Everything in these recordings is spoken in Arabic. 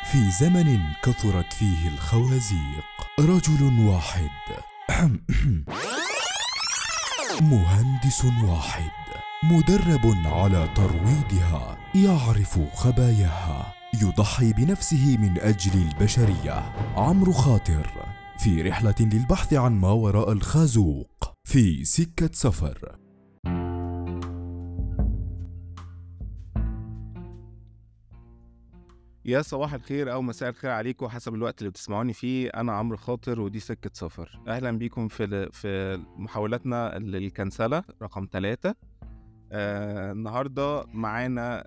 في زمن كثرت فيه الخوازيق، رجل واحد مهندس واحد مدرب على ترويضها، يعرف خباياها، يضحي بنفسه من أجل البشرية. عمرو خاطر في رحلة للبحث عن ما وراء الخازوق في سكة سفر. يا صباح الخير أو مساء الخير عليكم حسب الوقت اللي بتسمعوني فيه. أنا عمرو خاطر ودي سكة سفر. أهلا بيكم في محاولاتنا للكنسلة رقم 3. النهاردة معانا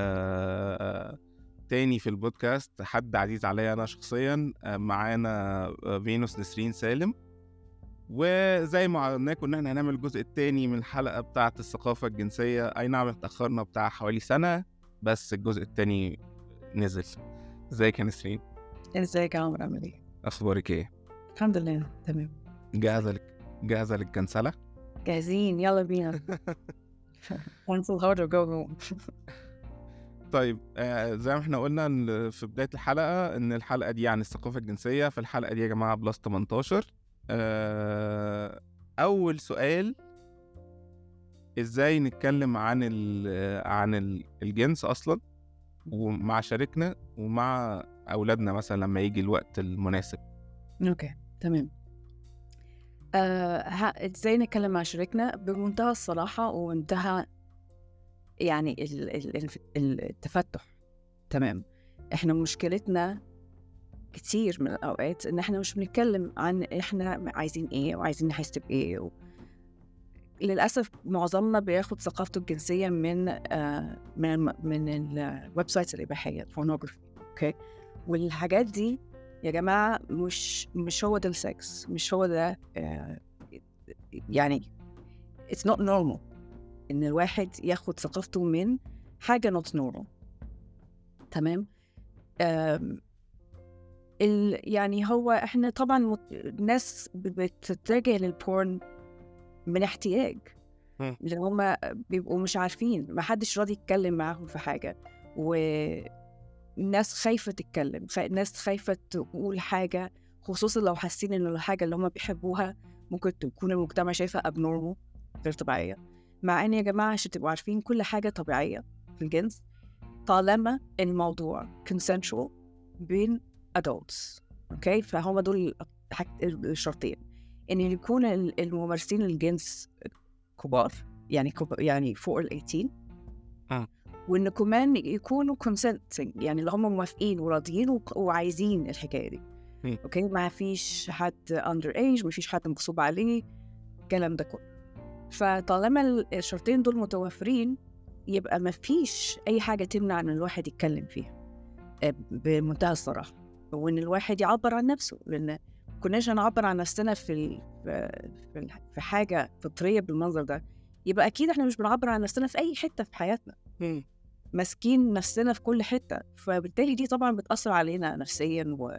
تاني في البودكاست حد عزيز عليا أنا شخصيا. معانا فينوس نسرين سالم، وزي ما عرضنا كنا احنا هنعمل الجزء التاني من الحلقة بتاعة الثقافة الجنسية. أي نعم اتأخرنا بتاع حوالي سنة، بس الجزء التاني نزل. ازيك يا نسرين؟ ازيك يا عمرو، عامل ايه؟ اخبارك ايه؟ الحمد لله تمام. جاهزه للكنسله؟ جاهزين، يلا بينا. cancel hard or go home. طيب، زي ما احنا قلنا في بدايه الحلقه ان الحلقه دي عن الثقافه الجنسيه. في الحلقه دي يا جماعه بلس 18. اول سؤال، ازاي نتكلم عن الجنس اصلا ومع شريكنا ومع اولادنا مثلا لما يجي الوقت المناسب؟ اوكي تمام. ازاي نتكلم مع شريكنا بمنتهى الصراحة ومنتهى يعني التفتح. تمام. احنا مشكلتنا كتير من الأوقات ان احنا مش بنتكلم عن احنا عايزين ايه وعايزين نحس بايه للأسف معظمنا بياخد ثقافته الجنسية من الويب سايتس الإباحية، البورنوغرافي. اوكي، والحاجات دي يا جماعة مش هو ده السكس، مش هو ده. يعني it's not normal إن الواحد ياخد ثقافته من حاجة not normal. تمام. يعني هو احنا طبعا الناس بتتجه للبورن من احتياج، لأن هم بيبقوا مش عارفين، ما حدش راضي يتكلم معاهم في حاجة، والناس خايفة تتكلم، الناس خايفة تقول حاجة، خصوصا لو حاسين إن الحاجة اللي هم بيحبوها ممكن تكون المجتمع شايفها abnormal، غير طبيعية. مع إن يا جماعة عشان تبقوا عارفين كل حاجة طبيعية في الجنس طالما الموضوع consensual بين adults. أوكي، فهم دول الشرطين، إن يكون الممارسين الجنس كبار، يعني فوق ال 18، وإن كمان يكونوا consenting، يعني اللي هم موافقين وراضيين وعايزين الحكاية دي. أوكي، ما فيش حد under age، ما فيش حد مغصوب عليه، الكلام ده كله. فطالما الشرطين دول متوفرين يبقى ما فيش أي حاجة تمنع إن الواحد يتكلم فيها بمنتهى الصراحة، وإن الواحد يعبر عن نفسه، لأن كناش هنعبر عن نفسنا في حاجة فطرية بالمنظر ده، يبقى أكيد إحنا مش بنعبر عن نفسنا في أي حتة في حياتنا، ماسكين نفسنا في كل حتة. فبالتالي دي طبعا بتأثر علينا نفسيا و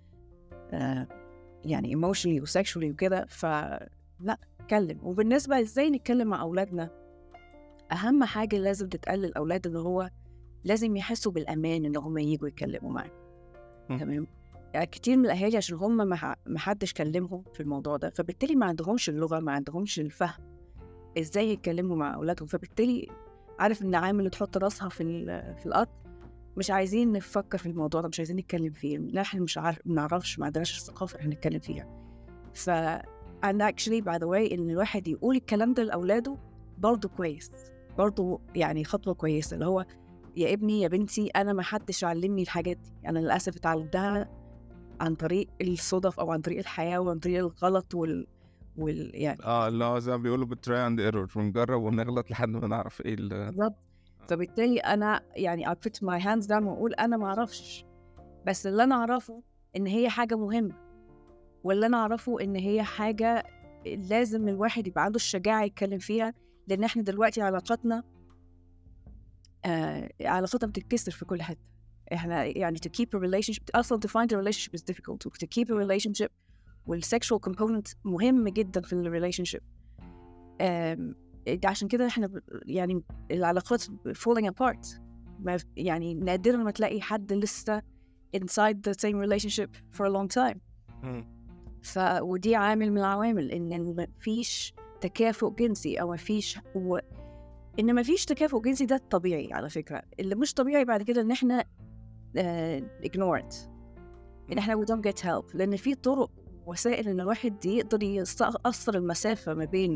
يعني emotionally و sexually وكده. فلا نتكلم. وبالنسبة إزاي نتكلم مع أولادنا، أهم حاجة لازم تتقال للأولاد إن هو لازم يحسوا بالأمان إن هم ييجوا يتكلموا معاك. تمام. يعني كتير من الأهالي عشان هم ما حدش كلمهم في الموضوع ده، فبالتالي ما عندهمش اللغة، ما عندهمش الفهم إزاي يتكلموا مع أولادهم. فبالتالي عارف إن عامل تحط راسها في الأرض، مش عايزين نفكر في الموضوع ده، مش عايزين نتكلم فيه، نحن مش نعرفش، ما عندناش الثقافة إحنا نتكلم فيها. أنا actually by the way إن الواحد يقول الكلام ده لأولاده برضو كويس، برضو يعني خطوة كويسة، اللي هو يا ابني يا بنتي أنا ما حدش علمني الحاجات دي، أنا للأسف اتعلمتها عن طريق الصدف أو عن طريق الحياة وعن طريق الغلط يعني لا زي ما بيقولوا بالتراي اند ايرور، بنجرب ونغلط لحد ما نعرف ايه بالظبط. فبالتالي أنا يعني I put my hands down وأقول أنا ما أعرفش، بس اللي أنا أعرفه إن هي حاجة مهمة، واللي أنا أعرفه إن هي حاجة لازم الواحد يبقى عنده الشجاعة يتكلم فيها، لأن إحنا دلوقتي علاقاتنا بتتكسر في كل حتة. إحنا يعني to keep a relationship، أصلاً to find a relationship is difficult، to keep a relationship والsexual component مهم جداً في relationship. عشان كده إحنا يعني العلاقات falling apart، يعني نادراً ما تلاقي حد لسه inside the same relationship for a long time. ودي عامل من العوامل إن مفيش تكافؤ جنسي أو إن مفيش تكافؤ جنسي. ده الطبيعي على فكرة. اللي مش طبيعي بعد كده إن إحنا ignore it، إن إحنا we don't get help، لأن في طرق وسائل إن الواحد يقدر يقصر المسافة ما بين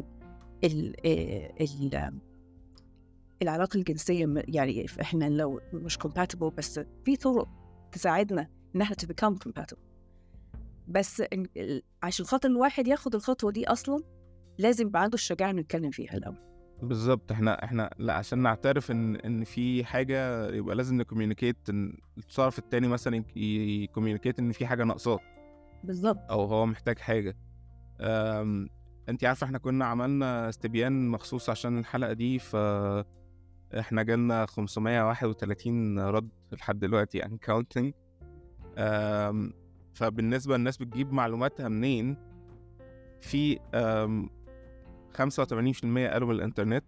العلاقة الجنسية. يعني إحنا لو مش compatible، بس في طرق تساعدنا إن إحنا to become compatible. بس عشان خاطر الواحد ياخد الخطوة دي أصلاً لازم يبقى عنده الشجاعة إنه يتكلم فيها الأول. بالظبط. احنا لا، عشان نعترف ان في حاجه يبقى لازم نكوميونيكيت، ان الطرف التاني مثلا يكوميونيكيت ان في حاجه ناقصاه بالظبط. او هو محتاج حاجه. انت عارفه احنا كنا عملنا استبيان مخصوص عشان الحلقه دي، فاحنا جالنا 531 رد لحد دلوقتي يعني counting. فبالنسبه للناس بتجيب معلوماتها منين، في 85% قالوا من الانترنت.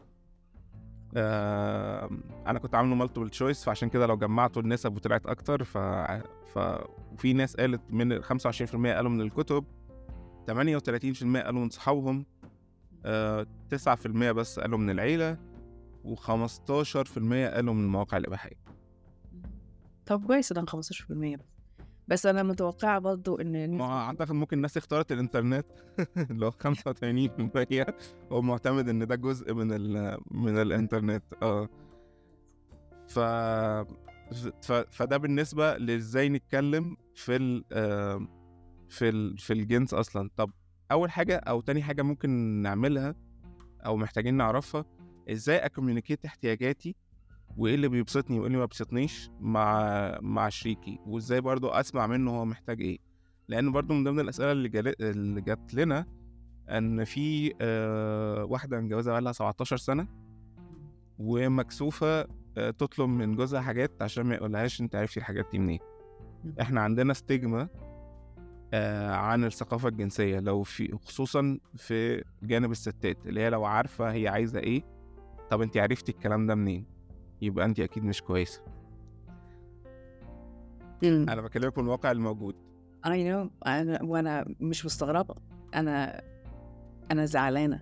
انا كنت عامله مالتيبل تشويس، فعشان كده لو جمعتوا النسب وطلعت اكتر. وفي ناس قالت من 25% قالوا من الكتب، 38% قالوا من صحابهم، 9% بس قالوا من العيلة، و15% قالوا من المواقع الإباحية. طب كويس ده 15%. بس أنا متوقعة برضو إن أعتقد ممكن الناس اختارت الإنترنت اللي هو 85% هو معتمد إن ده جزء من الإنترنت. فده بالنسبة لإزاي نتكلم في الجنس أصلا. طب أول حاجة أو تاني حاجة ممكن نعملها أو محتاجين نعرفها، إزاي أكوميونيكيت احتياجاتي وإيه اللي بيبسطني وإيه اللي ما بيبسطنيش مع شريكي، وإزاي برضو أسمع منه هو محتاج إيه. لأن برضو من ضمن الأسئلة اللي جات لنا أن في واحدة متجوزة بقالها 17 سنة ومكسوفة تطلب من جوزها حاجات عشان ما يقولهاش أنت عارفي الحاجات دي منين. إحنا عندنا ستيجما عن الثقافة الجنسية، لو في خصوصا في جانب الستات، اللي هي لو عارفة هي عايزة ايه، طب انت عرفتي الكلام ده منين؟ يبقى انت اكيد مش كويسة. انا بكلمك من الواقع الموجود. I know. وانا مش مستغربة، انا زعلانة.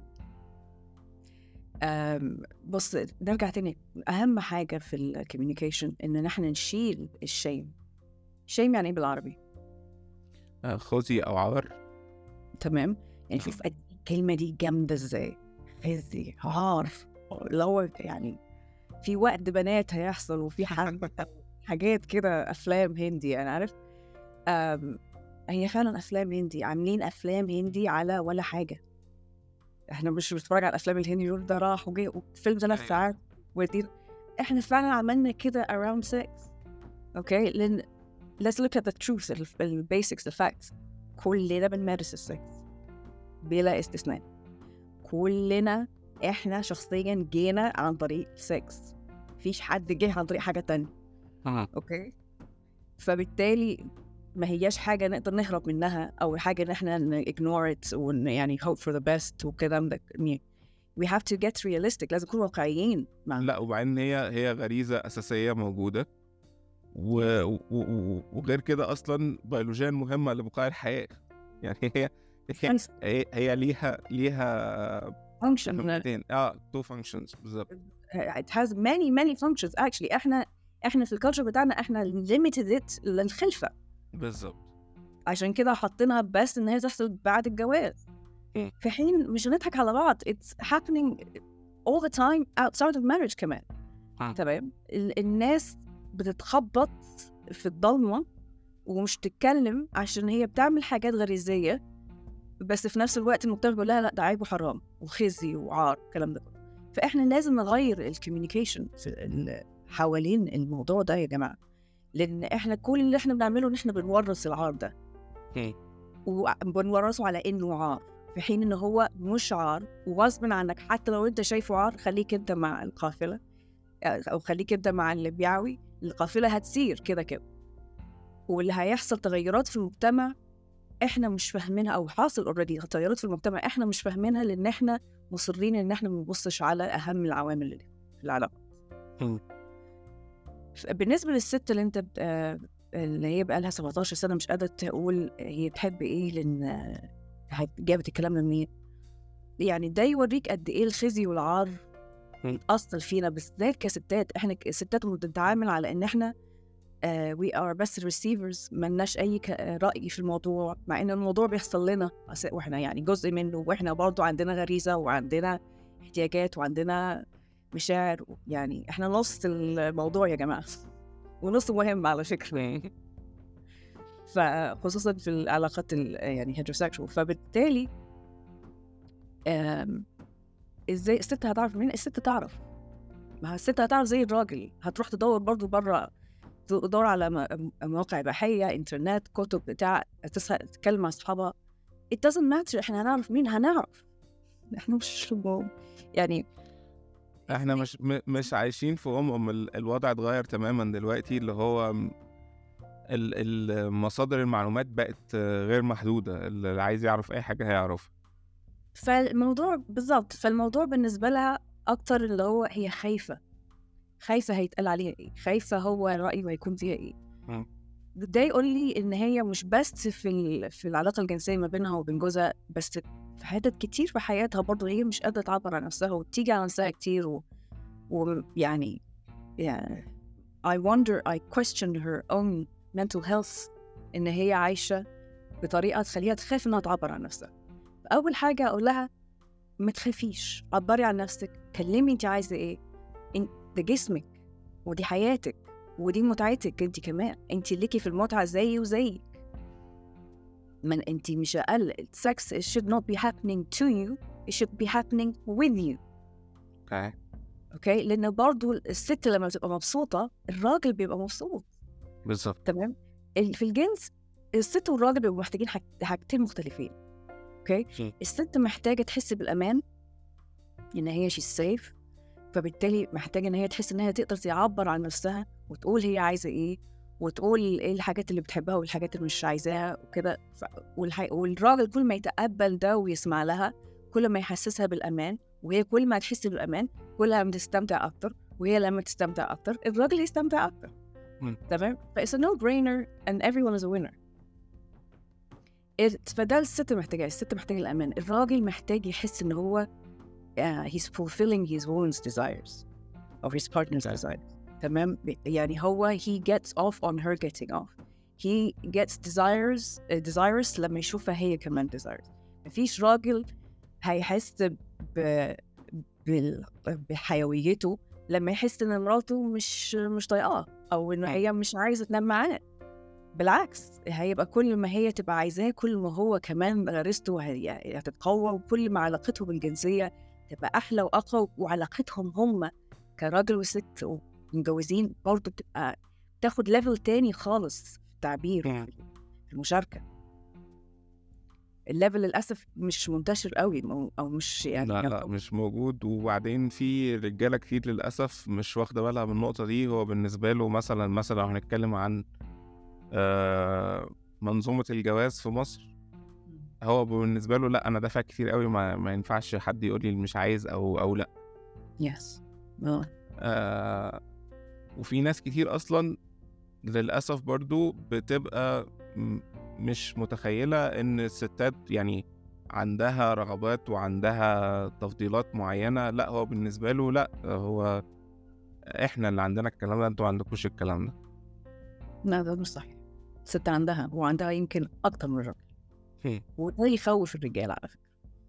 بص، نرجع تاني. اهم حاجة في الكوميونيكيشن ان نحن نشيل الشيم. شيم يعني ايه بالعربي؟ خوذي او عار. تمام. يعني شوف الكلمة دي جامدة ازاي، خوذي عار. لو يعني في وقت بنات هيحصل وفي حاجات كده افلام هندي، انا عارف. هي فعلا افلام هندي، عاملين افلام هندي على ولا حاجة. احنا مش بنتفرج على الافلام الهندي يقول ده راح وجاي وفيلم 3 ساعات ودي. احنا فعلا عملنا كده around sex. اوكي، لان let's look at the truth, the basics, the facts. كلنا بنمارس السكس بلا استثناء. كلنا احنا شخصيا جينا عن طريق السكس، مفيش حد جه عن طريق حاجة تانية. اوكي، فبالتالي ما هياش حاجة نقدر نهرب منها أو حاجة إن إحنا ignore it يعني hope for the best وكلام ده. we have to get realistic. لازم نكون واقعيين. لا، وبعدين هي غريزة أساسية موجودة، وغير كده أصلا بيولوجيا مهمة لبقاء الحياة. يعني هي ليها function. two functions بالظبط. it has many functions actually. احنا في الكالتشر بتاعنا احنا limited it للخلفة بالظبط. عشان كده حاطينها بس ان هي تحصل بعد الجواز. في حين مش هنضحك على بعض، it's happening all the time outside of marriage كمان. تمام. الناس بتتخبط في الضلمة ومش تتكلم عشان هي بتعمل حاجات غريزية، بس في نفس الوقت المجتمع بيقول لها لا ده عيب وحرام وخزي وعار الكلام ده. فإحنا لازم نغير الكوميونيكيشن حوالين الموضوع ده يا جماعة، لأن إحنا كل اللي إحنا بنعمله إن إحنا بنورث العار ده وبنورثه على إنه عار، في حين إنه هو مش عار وغصب عنك. حتى لو أنت شايفه عار، خليك أنت مع القافلة أو خليك أنت مع اللي بيعوي. القافلة هتسير كده كده، واللي هيحصل تغيرات في المجتمع إحنا مش فاهمينها، أو حاصل already تغيرات في المجتمع إحنا مش فاهمينها، لأن إحنا مصرين إن إحنا منبصش على أهم العوامل اللي في العلاقة. بالنسبة للست اللي أنت اللي هي بقى لها 17 سنة مش قادرة تقول هي بتحب إيه لأن جابت الكلام ده منين. يعني ده يوريك قد إيه الخزي والعار أصل فينا بالذات كستات. إحنا الستات بنتعامل على إن إحنا we are best receivers، ملناش أي رأي في الموضوع، مع إن الموضوع بيحصل لنا وإحنا يعني جزء منه، وإحنا برضو عندنا غريزة وعندنا احتياجات وعندنا مشاعر. يعني إحنا نص الموضوع يا جماعة، ونص مهم على فكرة، فخصوصا في العلاقات يعني heterosexual. فبالتالي إزاي الست هتعرف منين؟ الست تعرف، ما الست هتعرف زي الراجل، هتروح تدور برضو برا، تدور على مواقع إباحية، إنترنت، كتب، بتاع، تتكلم مع أصحابها. it doesn't matter. إحنا هنعرف مين؟ هنعرف. إحنا مش يعني احنا مش عايشين في الوضع اتغير تماما دلوقتي، اللي هو المصادر المعلومات بقت غير محدودة، اللي عايز يعرف أي حاجة هيعرف. فالموضوع بالظبط، فالموضوع بالنسبة لها أكتر اللي هو هي خايفة هيتقال عليها إيه، خايفة هو رأيه هيكون فيها إيه. ده يقول لي إن هي مش بس في العلاقة الجنسية ما بينها وبين جوزها، بس في حتت كتير في حياتها برضو هي مش قادرة تعبر عن نفسها وتيجي على نفسها كتير. ويعني I wonder, I question her own mental health، إن هي عايشة بطريقة تخليها تخاف إنها تعبر عن نفسها. أول حاجة أقول لها ما تخافيش، عبري عن نفسك، كلمي أنت عايزة إيه. ده جسمك ودي حياتك ودي متعتك أنت كمان، أنت ليكي في المتعة زي وزيك، من أنت مش أقل. sex should not be happening to you, it should be happening with you. أوكي، لأن برضو الست لما بتبقى مبسوطة الراجل بيبقى مبسوط. بالظبط. تمام. في الجنس الست والراجل بيبقوا محتاجين حاجتين مختلفين. أوكي، الست محتاجة تحس بالأمان، إن هي she's safe، فبالتالي محتاجة إن هي تحس إن هي تقدر تعبر عن نفسها وتقول هي عايزة إيه، وتقول إيه الحاجات اللي بتحبها والحاجات اللي مش عايزاها وكده. والراجل كل ما يتقبل ده ويسمع لها، كل ما يحسسها بالأمان، وهي كل ما تحس بالأمان كلها تستمتع أكتر، وهي لما تستمتع أكتر الراجل يستمتع أكتر. تمام. It's a no-brainer and everyone is a winner. فده الست محتاجة. الست محتاجة الأمان، الراجل محتاج يحس إن هو he's fulfilling his woman's desires or his partner's desires. تمام. يعني هو he gets off on her getting off. He gets desires لما يشوفها هي كمان desires. مفيش راجل هيحس بحيويته لما يحس إن مراته مش طايقاه، أو إنه هي مش عايزة تنام معاه. بالعكس، هيبقى كل ما هي تبقى عايزاه كل ما هو كمان غريزته هتتقوى، وكل ما علاقتهم الجنسية تبقى أحلى وأقوى، وعلاقتهم هم كراجل وست ومتجوزين برضو بتبقى تاخد ليفل تاني خالص في التعبير في المشاركة. الليفل للأسف مش منتشر قوي، أو مش يعني لا مش موجود. وبعدين في رجالة كتير للأسف مش واخدة بالها من النقطة دي. هو بالنسبة له مثلا لو هنتكلم عن منظومة الجواز في مصر، هو بالنسبة له لا، أنا دافع كتير قوي، ما ينفعش حد يقول لي مش عايز أو لا. yes. وفي ناس كتير أصلا للأسف برضو بتبقى مش متخيلة إن الستات يعني عندها رغبات وعندها تفضيلات معينة. لا، هو بالنسبة له لا، هو إحنا اللي عندنا الكلام ده، أنتوا عندكوش الكلام ده. لا، ده مش صحيح. الست عندها، وعندها يمكن أكتر من الرجل. وده يخوف الرجال على فكرة.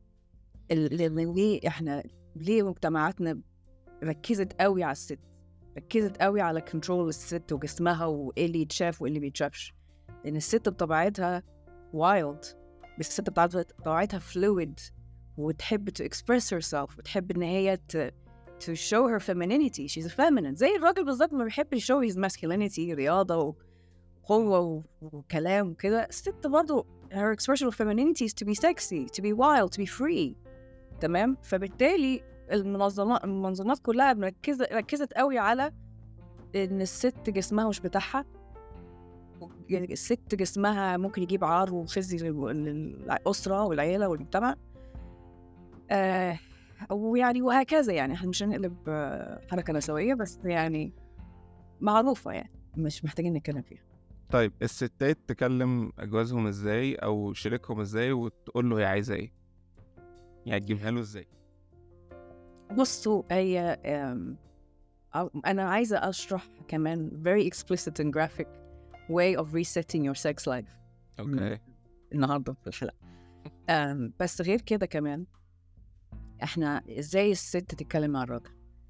ليه مجتمعاتنا ركزت قوي على الست، ركزت قوي على كنترول الست وجسمها وإيه اللي يتشاف وإيه اللي بيتشافش. لأن الست بطبيعتها wild، بس الست بطبيعتها fluid، وتحب to express herself، وتحب إن هي to show her femininity. She's a feminine. زي الراجل بالظبط ما بيحب show his masculinity، رياضة وقوة وكلام وكده. الست برضو her expression of femininity is to be sexy, to be wild, to be free. تمام. فبالتالي المنظمات كلها ركزت قوي على إن الست جسمها مش بتاعها، يعني الست جسمها ممكن يجيب عار وخزي للأسرة والعيلة والمجتمع. ويعني وهكذا. يعني احنا مش هنقلب حركة نسوية، بس يعني معروفة، يعني مش محتاجين نتكلم فيها. طيب الستات تكلم جوازهم ازاي او شريكهم ازاي وتقول له هي عايزه ايه؟ يعني تجيبها له ازاي؟ بصوا هي أنا عايزة أشرح كمان very explicit and graphic way of resetting your sex life اوكي. النهاردة في الحلقة. بس غير كده كمان احنا ازاي الست تتكلم مع الراجل.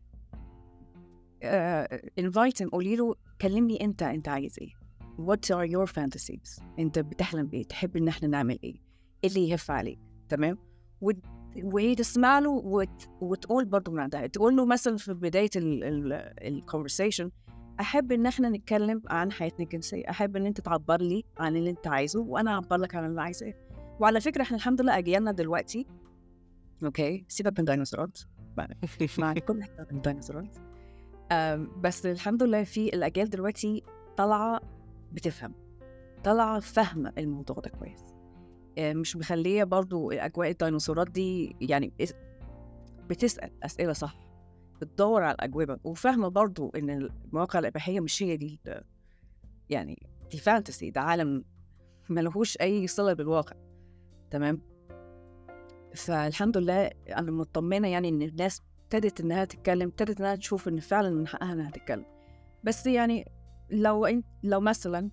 invite him، قولي له كلمني انت عايز ايه، what are your fantasies، انت بتحلم بايه، تحب ان احنا نعمل ايه اللي يهف عليك. تمام. وهي تسمع له وتقول برضه من عندها، تقول له مثلا في بداية الconversation أحب إن إحنا نتكلم عن حياتنا الجنسية، أحب إن أنت تعبر لي عن اللي أنت عايزه وأنا أعبر لك عن اللي عايزاه. وعلى فكرة إحنا الحمد لله أجيالنا دلوقتي، أوكي سيبك من الديناصورات مع كل احترام الديناصورات، بس الحمد لله في الأجيال دلوقتي طالعة بتفهم، طالعة فاهمة الموضوع ده كويس، مش مخلية برضو أجواء الديناصورات دي، يعني بتسأل أسئلة صح، بتدور على الأجوبة، وفاهمة برضو إن المواقع الإباحية مش هي دي يعني دي فانتسي، ده عالم ملهوش أي صلة بالواقع. تمام. فالحمد لله أنا مطمنة يعني إن الناس ابتدت إنها تتكلم، ابتدت إنها تشوف إن فعلا من حقها إنها تتكلم. بس يعني لو مثلا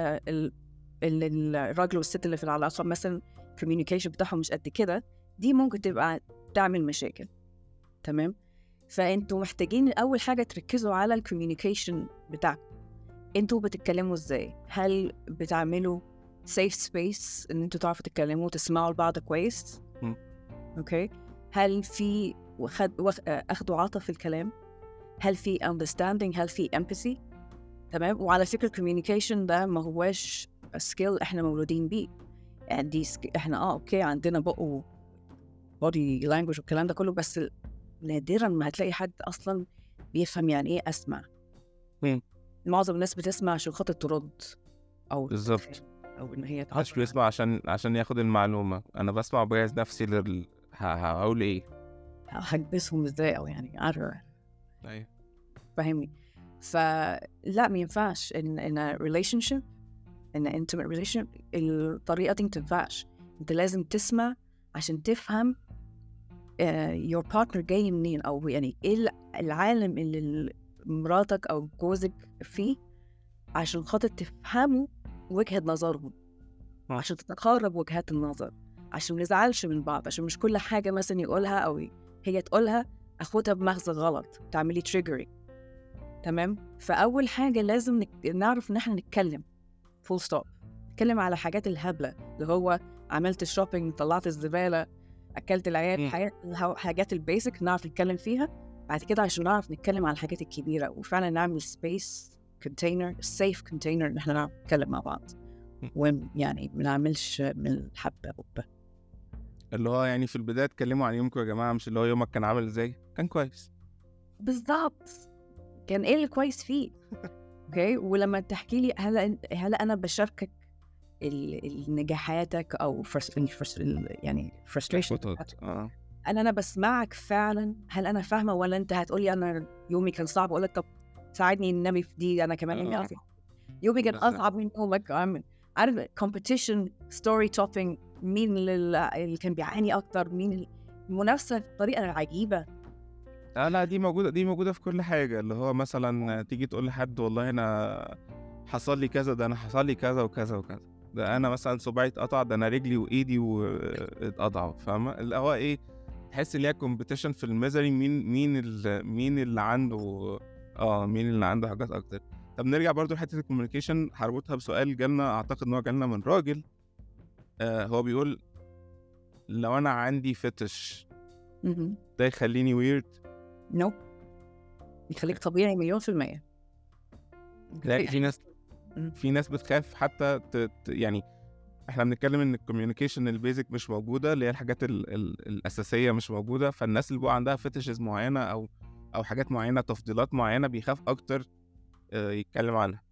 الراجل والست اللي في العلاقة مثلا communication بتاعهم مش قد كده، دي ممكن تبقى تعمل مشاكل. تمام. فانتوا محتاجين اول حاجه تركزوا على الكوميونيكيشن بتاعكم، انتوا بتتكلموا ازاي، هل بتعملوا safe space ان انتوا تعرفوا تتكلموا وتسمعوا لبعض كويس؟ اوكي. هل في اخد وعطا في الكلام، هل في understanding، هل في empathy؟ تمام. وعلى فكره الكوميونيكيشن ده ما هواش سكيل احنا مولودين بيه، يعني دي احنا اوكي عندنا بقى body language والكلام ده كله، بس نادراً ما هتلاقي حد أصلاً بيفهم يعني إيه أسمع. معظم الناس بتسمع عشان خاطر ترد أو بالظبط، أو إن هي محدش بيسمع عشان ياخد المعلومة. أنا بسمع وبجهز نفسي هقول إيه، هكبسهم إزاي، أو يعني عارفة. أيوة. فاهمني؟ فلا ما ينفعش إن relationship، إن intimate relationship الطريقة دي ما تنفعش. أنت لازم تسمع عشان تفهم your partner جاي منين، أو يعني إيه العالم اللي مراتك أو جوزك فيه، عشان خاطر تفهموا وجهة نظرهم، عشان تتقارب وجهات النظر، عشان ما نزعلش من بعض، عشان مش كل حاجة مثلا يقولها أو هي تقولها أخدها بمغزى غلط تعملي triggering. تمام. فأول حاجة لازم نعرف إن إحنا نتكلم full stop، نتكلم على حاجات الهبلة اللي هو عملت الشوبينج، طلعت الزبالة، أكلت العيال، حاجات البيسك نعرف نتكلم فيها. بعد كده عشان نعرف نتكلم على الحاجات الكبيرة وفعلا نعمل space container safe container إن إحنا نعرف نتكلم مع بعض، ويعني ما نعملش من الحبة قبة. اللي هو يعني في البداية اتكلموا عن يومكم يا جماعة، مش اللي هو يومك كان عامل ازاي، كان كويس بالضبط، كان ايه اللي كويس فيه. اوكي. ولما تحكي لي هل انا بشاركك النجاحاتك او يعني frustration، انا بسمعك فعلا، هل انا فاهمه، ولا انت هتقولي انا يومي كان صعب اقول لك طب ساعدني النبي في دي، انا كمان يومي كان اصعب من يومك. عارف competition story topping، مين اللي كان بيعاني اكتر، مين المنافسه بطريقه عجيبه. لا دي موجودة في كل حاجة. اللي هو مثلا تيجي تقول لحد والله أنا حصل لي كذا، ده أنا حصل لي كذا وكذا وكذا، ده أنا مثلا صباعي اتقطع، ده أنا رجلي وإيدي واتقطعوا. فاهمة اللي هو إيه؟ تحس إن هي كومبيتيشن في الميزري، مين اللي عنده حاجات أكتر. طب نرجع برضو لحتة الكوميونيكيشن، هربطها بسؤال جالنا، أعتقد إن هو جالنا من راجل. هو بيقول لو أنا عندي فتش ده يخليني ويرد؟ نو، يخليك طبيعي 100%. لا في ناس بتخاف حتى يعني احنا بنتكلم ان الكوميونيكيشن البيزك مش موجوده، اللي هي الحاجات الاساسيه مش موجوده. فالناس اللي بقى عندها فتشز معينه او حاجات معينه، تفضيلات معينه، بيخاف اكتر يتكلم عنها.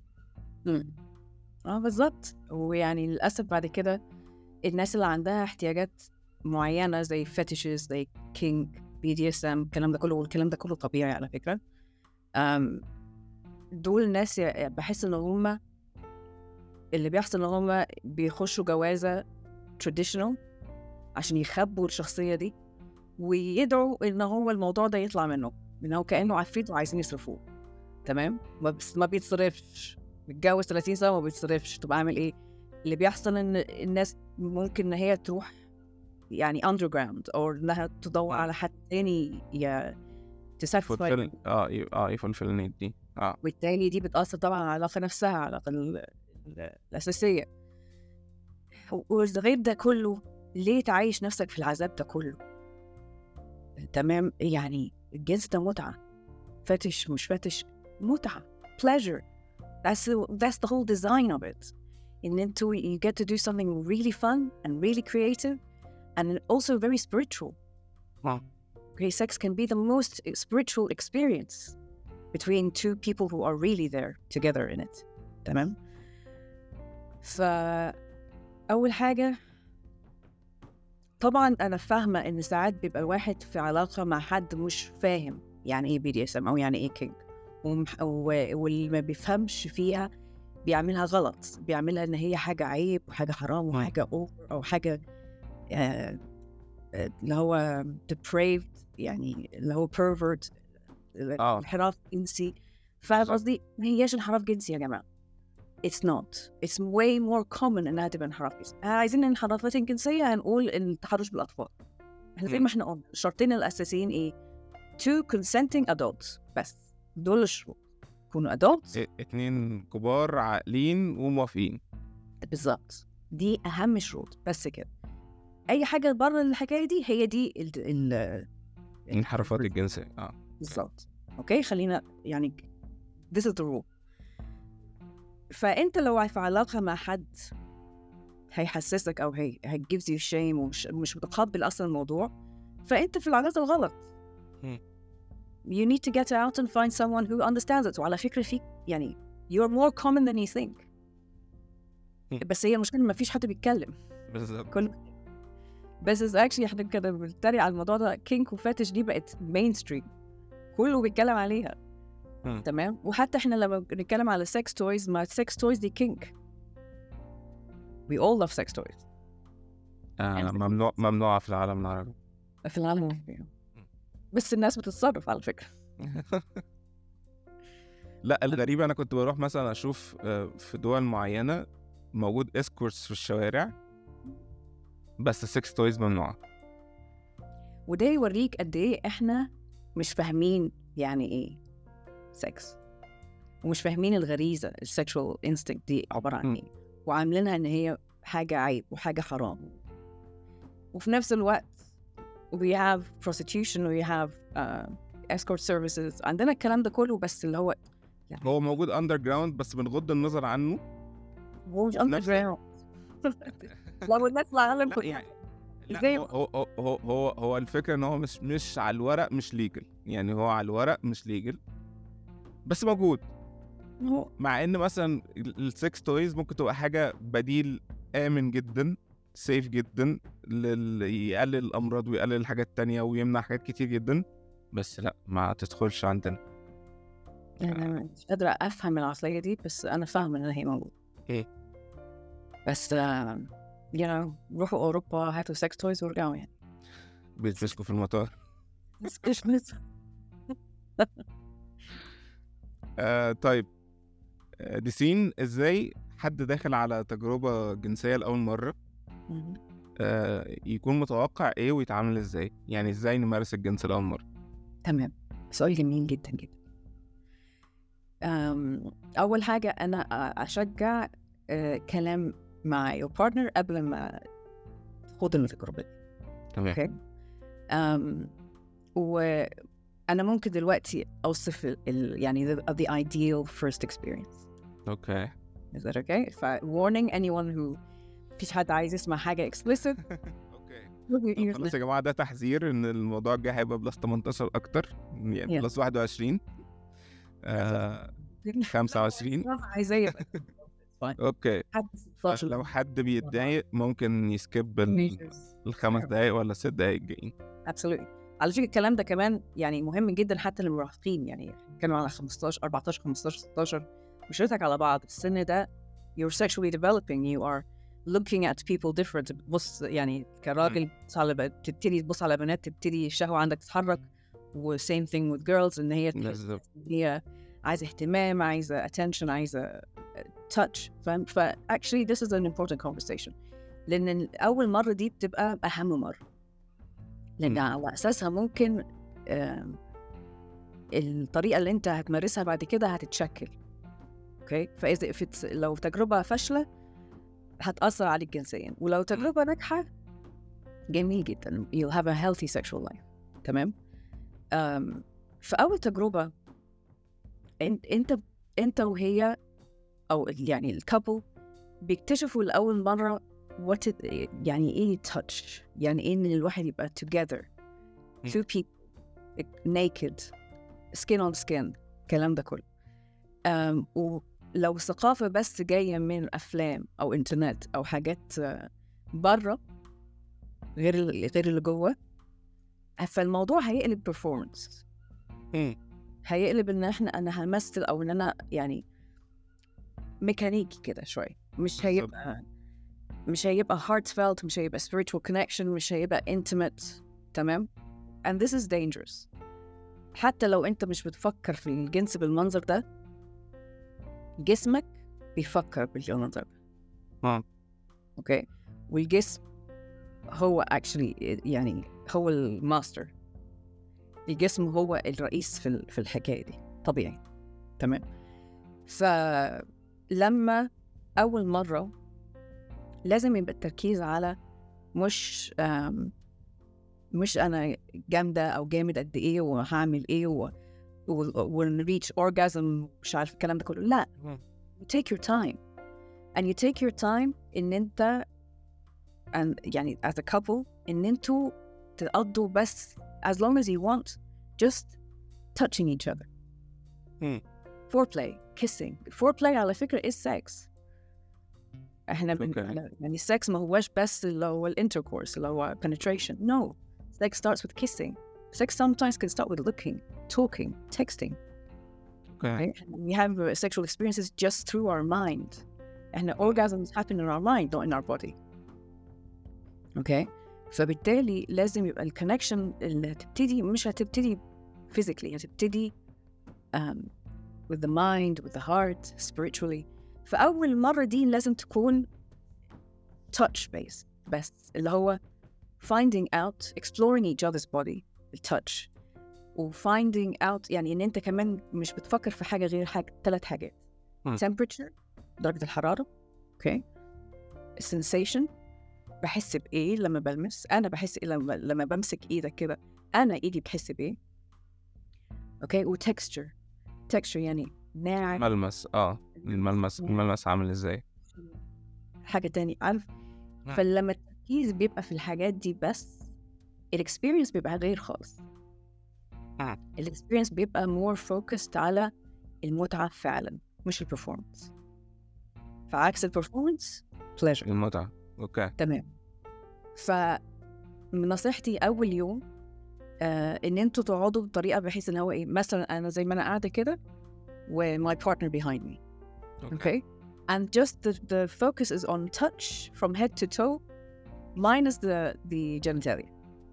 بالظبط. ويعني للاسف بعد كده الناس اللي عندها احتياجات معينه زي fetishes زي كينج BDSM الكلام ده كله، والكلام ده كله طبيعي على فكره. دول الناس بحس ان هم اللي بيحصل ان هم بيخشوا جوازة traditional عشان يخبوا الشخصية دي ويدعوا ان هو الموضوع ده يطلع منه، انه كأنه عفريت وعايزين يصرفوه. تمام، بس ما بيتصرفش. متجوز 30 سنة ما بيتصرفش، تبقى عامل ايه؟ اللي بيحصل ان الناس ممكن ان هي تروح يعني underground او انها تدور على حد تاني تساتسفاي، يفولفل النيد دي. والتالي دي بتأثر طبعا على العلاقة نفسها، على العلاقة الأساسية. وغير ده كله، ليه تعيش نفسك في العذاب ده كله؟ تمام، يعني الجنس ده متعة، فتش مش فتش، متعة، pleasure. That's the whole design of it. And then you get to do something really fun and really creative and also very spiritual. Okay, sex can be the most spiritual experience between two people who are really there together in it. تمام؟ فأول حاجة طبعا أنا فاهمة إن ساعات بيبقى الواحد في علاقة مع حد مش فاهم يعني إيه BDSM أو يعني إيه كينج، واللي ما بيفهمش فيها بيعملها غلط، بيعملها إن هي حاجة عيب وحاجة حرام وحاجة أوفر أو حاجة اللي هو depraved، يعني اللي هو pervert، انحراف جنسي. فاهم قصدي؟ ما هياش انحراف جنسي يا جماعة. It's not. It's way more common إنها تبقى انحراف جنسي. عايزين الانحرافات الجنسية هنقول التحرش بالأطفال. احنا زي ما احنا قلنا الشرطين الأساسيين إيه؟ two consenting adults بس، دول الشروط. يكونوا adults، 2 كبار عاقلين وموافقين. بالظبط، دي أهم شروط بس كده. أي حاجة بره الحكاية دي هي دي الانحرافات الجنسية. بالظبط. أوكي، خلينا يعني this is the rule. فأنت لو في علاقة مع حد هيحسسك أو هي gives you shame ومش متقبل أصلا الموضوع، فأنت في العلاقة الغلط. You need to get out and find someone who understands it. وعلى فكرة فيك يعني you're more common than you think. بس هي المشكلة ما فيش حد بيتكلم. بالظبط. بس actually احنا كده بنتريق على الموضوع ده. كينك وفاتش دي بقت mainstream، كله بيتكلم عليها. تمام، وحتى احنا لما بنتكلم على sex toys، ما sex toys دي كينك. We all love sex toys. ممنوعة في العالم العربي. في العالم العربي بس الناس بتتصرف على فكرة. لا، الغريبة أنا كنت بروح مثلا أشوف في دول معينة موجود اسكورتس في الشوارع بس السكس تويز ممنوعة. وده يوريك قد ايه احنا مش فاهمين يعني ايه سكس، ومش فاهمين الغريزة السكشوال انستنكت دي عبارة عن ايه، وعاملينها ان هي حاجة عيب وحاجة حرام. وفي نفس الوقت we have prostitution we have escort services، عندنا الكلام ده كله، بس اللي هو يعني هو موجود underground بس بنغض النظر عنه. هو مش underground. لو نطلع على يعني هو الفكرة ان هو مش على الورق مش ليجل، يعني هو على الورق مش ليجل بس موجود. مع ان مثلا السكس تويز ممكن تبقى حاجة بديل آمن جدا، سيف جدا، يقلل الأمراض ويقلل الحاجات التانية ويمنع حاجات كتير جدا، بس لا، ما تدخلش عندنا. أنا مش قادرة أفهم العقلية دي، بس أنا فاهمة إن هي موجودة. بس روحوا أوروبا هاتوا سكس تويز ورجعوا يعني بيتفسكوا في المطار. طيب ديسين، ازاي حد داخل على تجربة جنسية لأول مرة يكون متوقع ايه ويتعامل ازاي؟ يعني ازاي نمارس الجنس لأول مرة؟ تمام، سؤال جميل جدا جدا. أول حاجة أنا أشجع كلام مع your partner قبل ما تخوض التجربة دي. تمام. okay. وأنا ممكن دلوقتي أوصف يعني the ideal first experience. Okay. Is that okay? warning anyone who فيش حد عايز يسمع حاجة explicit. Okay. خلاص يا جماعة، ده تحذير إن الموضوع الجاي هيبقى بلس 18 أكتر، يعني بلس 21 25. عايزة يبقى اوكي. لو حد بيتضايق ممكن يسكيب ال5 دقايق ولا 6 دقايق الجايين. absolutely. على فكرة الكلام ده كمان يعني مهم جدا حتى للمراهقين، يعني كانوا على 15 14 15 16 مشرتك على بعض السن ده you're sexually developing, you are looking at people different. بص يعني كراجل تبتدي تبص على بنات، تبتدي الشهوة عندك تتحرك. و same thing with girls إن هي بالظبط. هي عايزة اهتمام، عايزة attention، عايزة touch. فاهم؟ actually this is an important conversation، لأن أول مرة دي بتبقى أهم مرة، لأن على أساسها ممكن الطريقة اللي أنت هتمارسها بعد كده هتتشكل. أوكي، فإذا لو تجربة فاشلة هتأثر عليك جنسيا، ولو تجربة ناجحة جميل جدا، you'll have a healthy sexual life. تمام. فأول تجربة أنت وهي أو يعني الكابل بيكتشفوا لأول مرة يعني إيه touch، يعني إيه إن الواحد يبقى together two people naked skin on skin، الكلام ده كله. ولو ثقافة بس جاية من أفلام أو إنترنت أو حاجات برا غير اللي جوه، فالموضوع هيقلب performance، هيقلب إن أنا همثل، أو إن أنا يعني ميكانيكي كده شوي، مش هيبقى heartfelt، مش هيبقى spiritual connection، مش هيبقى intimate. تمام. and this is dangerous. حتى لو أنت مش بتفكر في الجنس بالمنظر ده، جسمك بيفكر بالمنظر ده. أوكي، والجسم هو actually يعني هو الماستر، الجسم هو الرئيس في الحكاية دي طبيعي. تمام. فلما أول مرة لازم يبقى التركيز على مش أنا جامدة أو جامد قد إيه وهعمل إيه ونريتش orgasm، مش عارف الكلام ده كله. لا، you take your time and you take your time إن أنت يعني as a couple إن أنتوا تقضوا بس as long as you want just touching each other. foreplay kissing. foreplay على فكرة is sex. احنا يعني السكس ما هوش بس اللي هو الانتركورس اللي هو penetration. No, sex starts with kissing. Sex sometimes can start with looking, talking, texting. Okay. We have sexual experiences just through our mind. And orgasms happen in our mind, not in our body. Okay. فبالتالي لازم يبقى الكونكشن اللي هتبتدي مش هتبتدي physically، هتبتدي with the mind, with the heart, spiritually. فأول مرة دي لازم تكون touch based بس، اللي هو finding out, exploring each other's body, touch، و finding out يعني إن أنت كمان مش بتفكر في حاجة غير 3 حاجات. temperature، درجة الحرارة. okay. sensation، بحس بإيه لما بلمس، أنا بحس إيه لما بمسك إيدك كده، أنا إيدي بحس بإيه. okay. و texture يعني ناعم، ملمس. الملمس عامل إزاي. حاجة تاني، عارف. فلما التركيز بيبقى في الحاجات دي بس، الاكسبيرينس بيبقى غير خالص. الاكسبيرينس بيبقى more focused على المتعة فعلا، مش البرفورمانس. فعكس البرفورمانس pleasure، المتعة. اوكي. تمام. فنصيحتي أول يوم إن أنتوا تقعدوا بطريقة بحيث إن هو إيه، مثلا أنا زي ما أنا قاعدة كده و my partner behind me. Okay. And just the focus is on touch from head to toe minus the genitalia.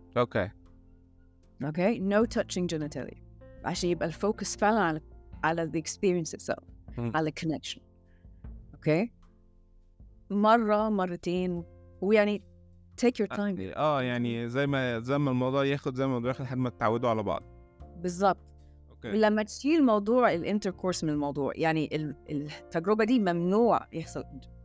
Okay. No touching genitalia. عشان يبقى الفوكس فعلا على the experience itself، على connection. Okay. مرة مرتين، ويعني take your time. يعني زي ما الموضوع ياخد لحد ما تتعودوا على بعض. بالظبط. لما تشيل موضوع الانتركورس من الموضوع، يعني التجربة دي ممنوع يحصل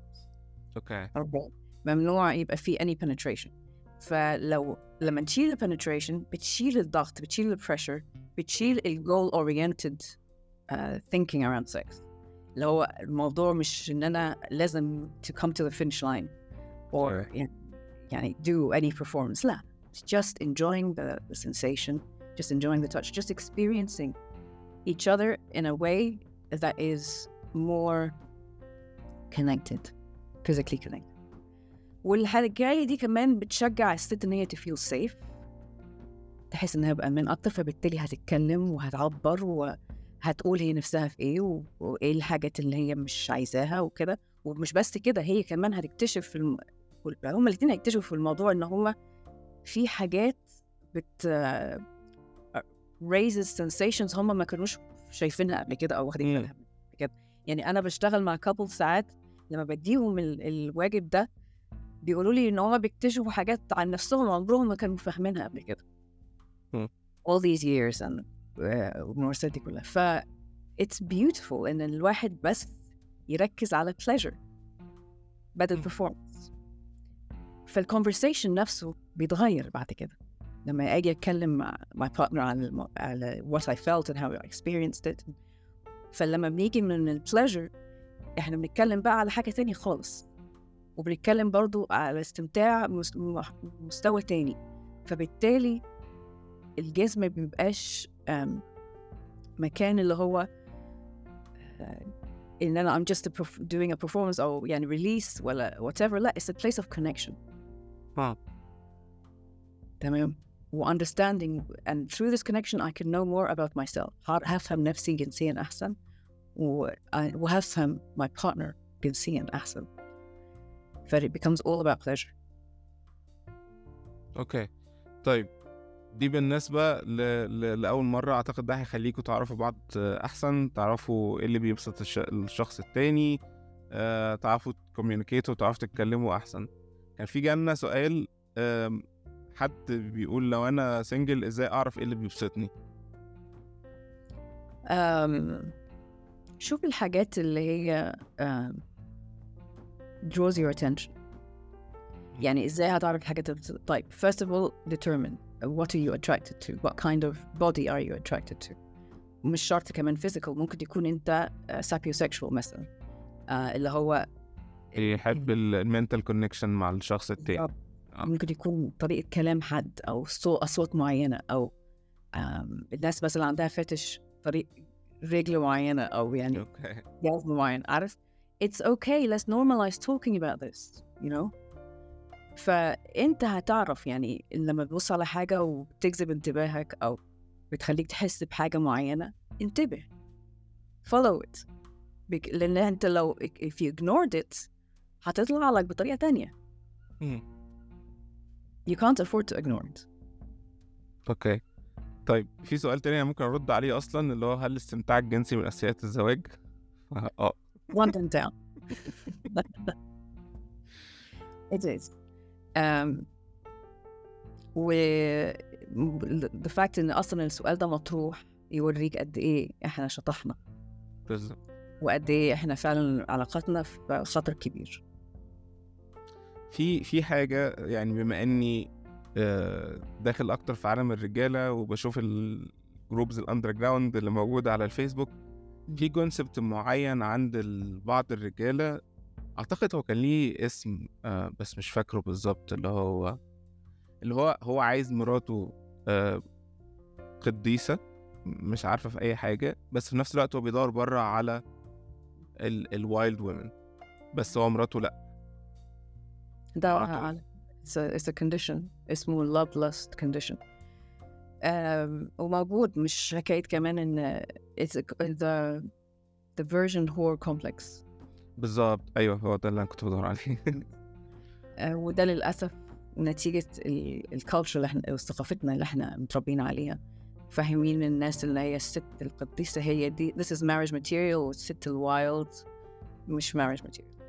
ممنوع يبقى فيه any penetration. لما تشيل penetration بتشيل الضغط، بتشيل pressure، بتشيل goal oriented thinking around sex، اللي هو الموضوع مش إن أنا لازم to come to the finish line or يعني do any performance. لا, it's just enjoying the sensation, just enjoying the touch, just experiencing each other in a way that is more connected, physically connected. والحاجة دي كمان بتشجع الست إن هي to feel safe، تحس إنها بأمان أكتر، فبالتالي هتتكلم وهتعبر وهتقول هي نفسها في إيه وإيه الحاجات اللي هي مش عايزاها وكده، ومش بس كده، هي كمان هتكتشف هما الاتنين هيكتشفوا في الموضوع ان هما في حاجات بت raises sensations هما ما كانوش شايفينها قبل كده او واخدين بالها منها كده. يعني انا بشتغل مع couple ساعات لما بديهم الواجب ده بيقولوا لي ان هما بيكتشفوا حاجات عن نفسهم عمرهم ما كانوا فاهمينها قبل كده. all these years and والممارسات دي كلها. ف it's beautiful ان الواحد بس يركز على pleasure بدل performance. فالconversation نفسه بيتغير بعد كده لما اجي اتكلم مع my partner على what I felt and how I experienced it. فلما بنيجي من pleasure احنا بنتكلم بقى على حاجة تانية خالص، وبنتكلم برضو على استمتاع مستوى تاني. فبالتالي الجسم مبيبقاش مكان اللي هو إن أنا I'm just doing a performance أو يعني release ولا whatever. لا, it's a place of connection. تمام. و understanding, and through this connection I can know more about myself. هفهم نفسي جنسيا أحسن وهفهم my partner جنسيا أحسن. ف it becomes all about pleasure. اوكي طيب، دي بالنسبة لأول مرة. أعتقد ده هيخليكوا تعرفوا بعض أحسن، تعرفوا إيه اللي بيبسط الشخص التاني، تعرفوا تكوميونيكيتوا وتعرفوا تتكلموا أحسن. كان في جالنا سؤال، حد بيقول لو أنا سنجل إزاي أعرف إيه اللي بيبسطني؟ شوف الحاجات اللي هي draws your attention. يعني إزاي هتعرف الحاجات اللي طيب first of all determine what are you attracted to, what kind of body are you attracted to. مش شرط كمان physical، ممكن يكون أنت sapiosexual مثلا، اللي هو يحب المنتال كونكشن مع الشخص التاني. ممكن يكون طريقة كلام حد أو أصوات معينة، أو الناس مثلا عندها فتش طريق رجل معينة أو يعني جهاز معين. عارف it's okay, let's normalize talking about this, you know. فأنت هتعرف يعني لما تبص على حاجة وبتجذب انتباهك أو بتخليك تحس بحاجة معينة، انتبه follow it. لأن أنت لو if you ignored it هتطلع لك بطريقة تانية. you can't afford to ignore it. اوكي طيب، في سؤال تاني ممكن أرد عليه أصلا، اللي هو هل الاستمتاع الجنسي من أساسيات الزواج؟ one and down. it is. the fact إن أصلا السؤال ده مطروح يوريك قد إيه إحنا شطحنا وقد إيه إحنا فعلا علاقتنا في خطر كبير. في حاجة يعني، بما إني داخل أكتر في عالم الرجالة وبشوف الجروبز الأندر جراوند اللي موجودة على الفيسبوك، في كونسبت معين عند بعض الرجالة، أعتقد هو كان ليه اسم بس مش فاكره بالظبط، اللي هو عايز مراته قديسة مش عارفة في أي حاجة، بس في نفس الوقت هو بيدور برا على الوايلد وومن، بس هو مراته لأ. ده it's a condition اسمه love lust condition. وموجود، مش حكاية كمان إن it's the virgin whore complex. بالظبط، أيوه هو ده اللي أنا كنت بدور عليه. وده للأسف نتيجة الكالتشر اللي احنا ثقافتنا اللي احنا متربيين عليها، فاهمين الناس اللي هي الست القديسة هي دي this is marriage material، والست الوايلد مش marriage material.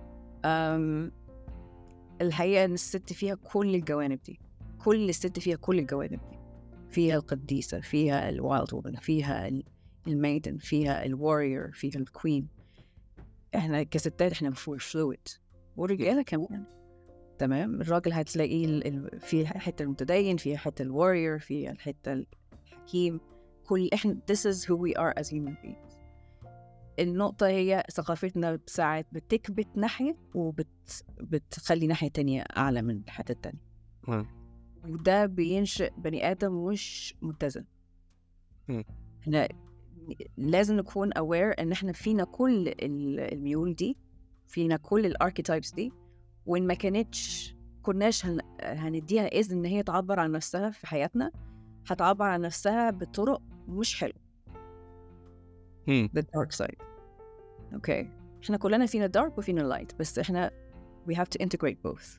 الحقيقة إن الست فيها كل الجوانب دي، كل الست فيها كل الجوانب دي، فيها القديسة، فيها الوايلد وومن، فيها الميدن، فيها الواريور، فيها الكوين. احنا كستات احنا فلويد، والرجالة كمان. تمام. الراجل هتلاقيه في حتة المتدين، في حتة الواريور، في الحتة الحكيم. كل احنا this is who we are as human beings. النقطة هي ثقافتنا ساعات بتكبت ناحية وبتخلي ناحية تانية أعلى من الحتة التانية. وده بينشئ بني آدم مش متزن. احنا لازم نكون aware ان احنا فينا كل الميول دي، فينا كل الاركيتايبس دي، وإن ما كناش هنديها إذن إن هي تعبر عن نفسها في حياتنا، هتعبر عن نفسها بطرق مش حلوة. the dark side. okay. احنا كلنا فينا dark وفينا light، بس احنا we have to integrate both.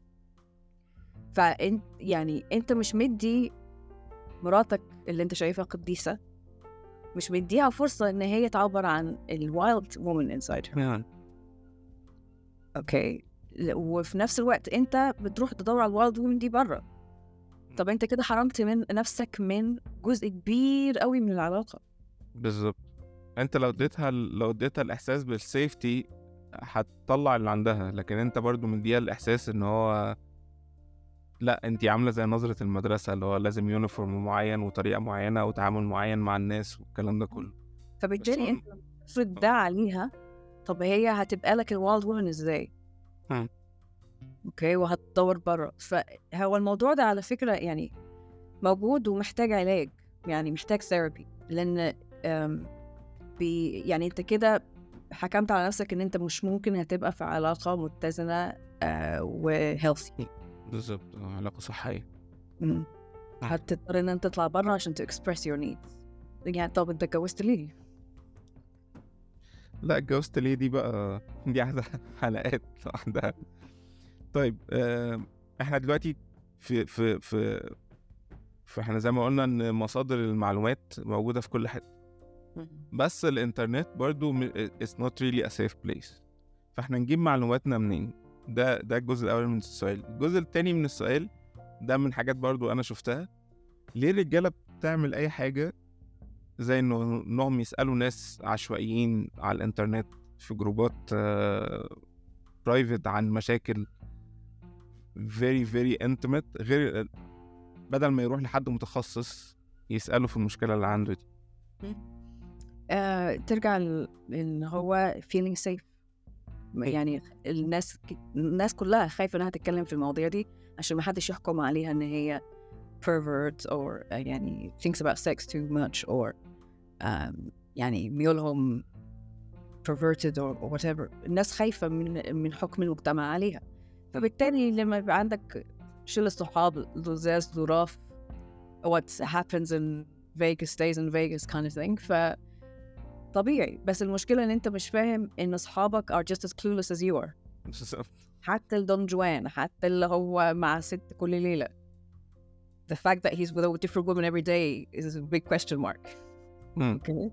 فانت يعني انت مش مدي مراتك اللي انت شايفها قديسة، مش مديها فرصة ان هي تعبر عن الwild woman inside her. اوكي، وفي نفس الوقت انت بتروح تدور على الوايلد وومن دي بره. طب انت كده حرمت من نفسك من جزء كبير قوي من العلاقة. بالظبط. انت لو اديتها الاحساس بالسيفتي هتطلع اللي عندها، لكن انت برضو مديها الاحساس ان هو لا، انت عامله زي نظره المدرسه اللي هو لازم يونيفورم معين وطريقه معينه وتعامل معين مع الناس والكلام ده كله. فبالتالي انت تفرض ده عليها، طب هي هتبقى لك الوايلد وومن ازاي؟ اوكي، وهتدور بره. فهو الموضوع ده على فكرة يعني موجود ومحتاج علاج، يعني محتاج ثيرابي، لان يعني انت كده حكمت على نفسك ان انت مش ممكن هتبقى في علاقة متزنة وهيلثي. بالظبط، علاقة صحية. هتضطر ان انت تطلع بره عشان express your needs. يعني طب انت اتجوزت ليه؟ لا، اتجوزت ليه دي بقى دي عايزة حلقات لوحدها. طيب احنا دلوقتي في احنا زي ما قلنا ان مصادر المعلومات موجودة في كل حتة، بس الانترنت برضو it's not really a safe place. فاحنا نجيب معلوماتنا منين؟ ده الجزء الاول من السؤال. الجزء التاني من السؤال ده من حاجات برضو انا شفتها، ليه الرجالة بتعمل اي حاجة زي انهم يسألوا ناس عشوائيين على الانترنت في جروبات برايفت عن مشاكل very very intimate، غير بدل ما يروح لحد متخصص يسأله في المشكلة اللي عنده دي. ترجع ان هو feeling safe. يعني الناس كلها خايفة انها تتكلم في المواضيع دي عشان ما حدش يحكم عليها ان هي pervert or يعني thinks about sex too much or يعني ميولهم perverted or whatever. الناس خايفة من حكم المجتمع عليها. فبالتالي لما يبقى عندك شلة صحاب لزاز ظراف what happens in Vegas stays in Vegas kind of thing، طبيعي. بس المشكلة ان انت مش فاهم ان اصحابك are just as clueless as you are. حتى الدون جوان، حتى اللي هو مع ست كل ليلة، the fact that he's with a different woman every day is a big question mark. okay.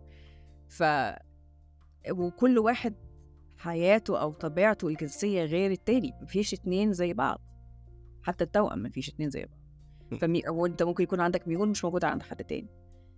وكل واحد حياته او طبيعته الجنسية غير التاني، مفيش اتنين زي بعض، حتى التوأم مفيش اتنين زي بعض. وانت ممكن يكون عندك ميول مش موجودة عند حد تاني.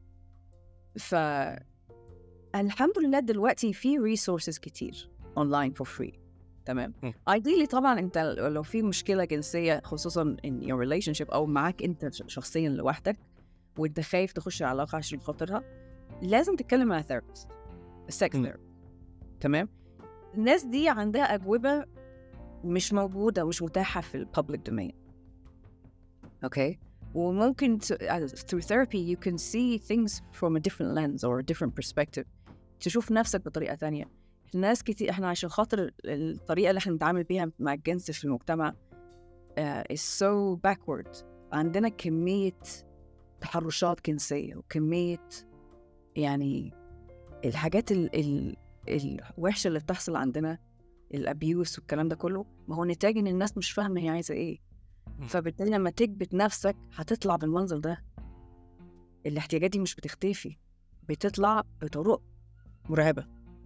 الحمد لله دلوقتي في resources كتير online for free. تمام. ideally طبعا انت لو في مشكلة جنسية خصوصا in your relationship او معاك انت شخصيا لوحدك وانت خايف تخش علاقة عشان خاطرها، لازم تتكلم مع therapist، sex therapist. تمام. الناس دي عندها أجوبة مش موجودة ومش متاحة في public domain. okay. وممكن through therapy you can see things from a different lens or a different perspective، تشوف نفسك بطريقة تانية. الناس كتير احنا عشان خاطر الطريقة اللي احنا نتعامل بيها مع الجنس في المجتمع is so backward. عندنا كمية تحرشات جنسية وكمية يعني الحاجات الوحشة اللي بتحصل عندنا، الابيوس والكلام ده كله، ما هو نتاج ان الناس مش فاهمة هي عايزة ايه. فبالتالي لما تكبت نفسك هتطلع بالمنظر ده. الاحتياجات دي مش بتختفي، بتطلع بطرق مرعبة.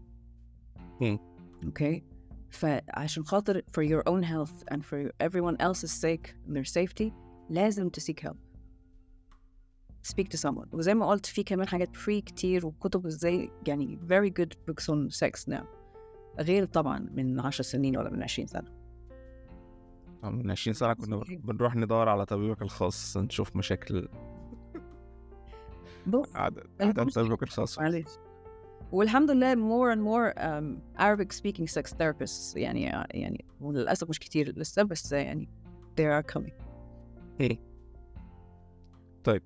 اوكي. فعشان خاطر for your own health and for everyone else's sake and their safety لازم to seek help. speak to someone. وزي ما قلت في كمان حاجات free كتير وكتب ازاي يعني very good books on sex now، غير طبعا من 10 سنين ولا من 20 سنة. من 20 سنة كنا بنروح ندور على طبيبك الخاص نشوف مشاكل عدد طبيبك الخاص. والحمد لله more and more Arabic speaking sex therapists يعني وللأسف مش كتير لسه، بس يعني they are coming. طيب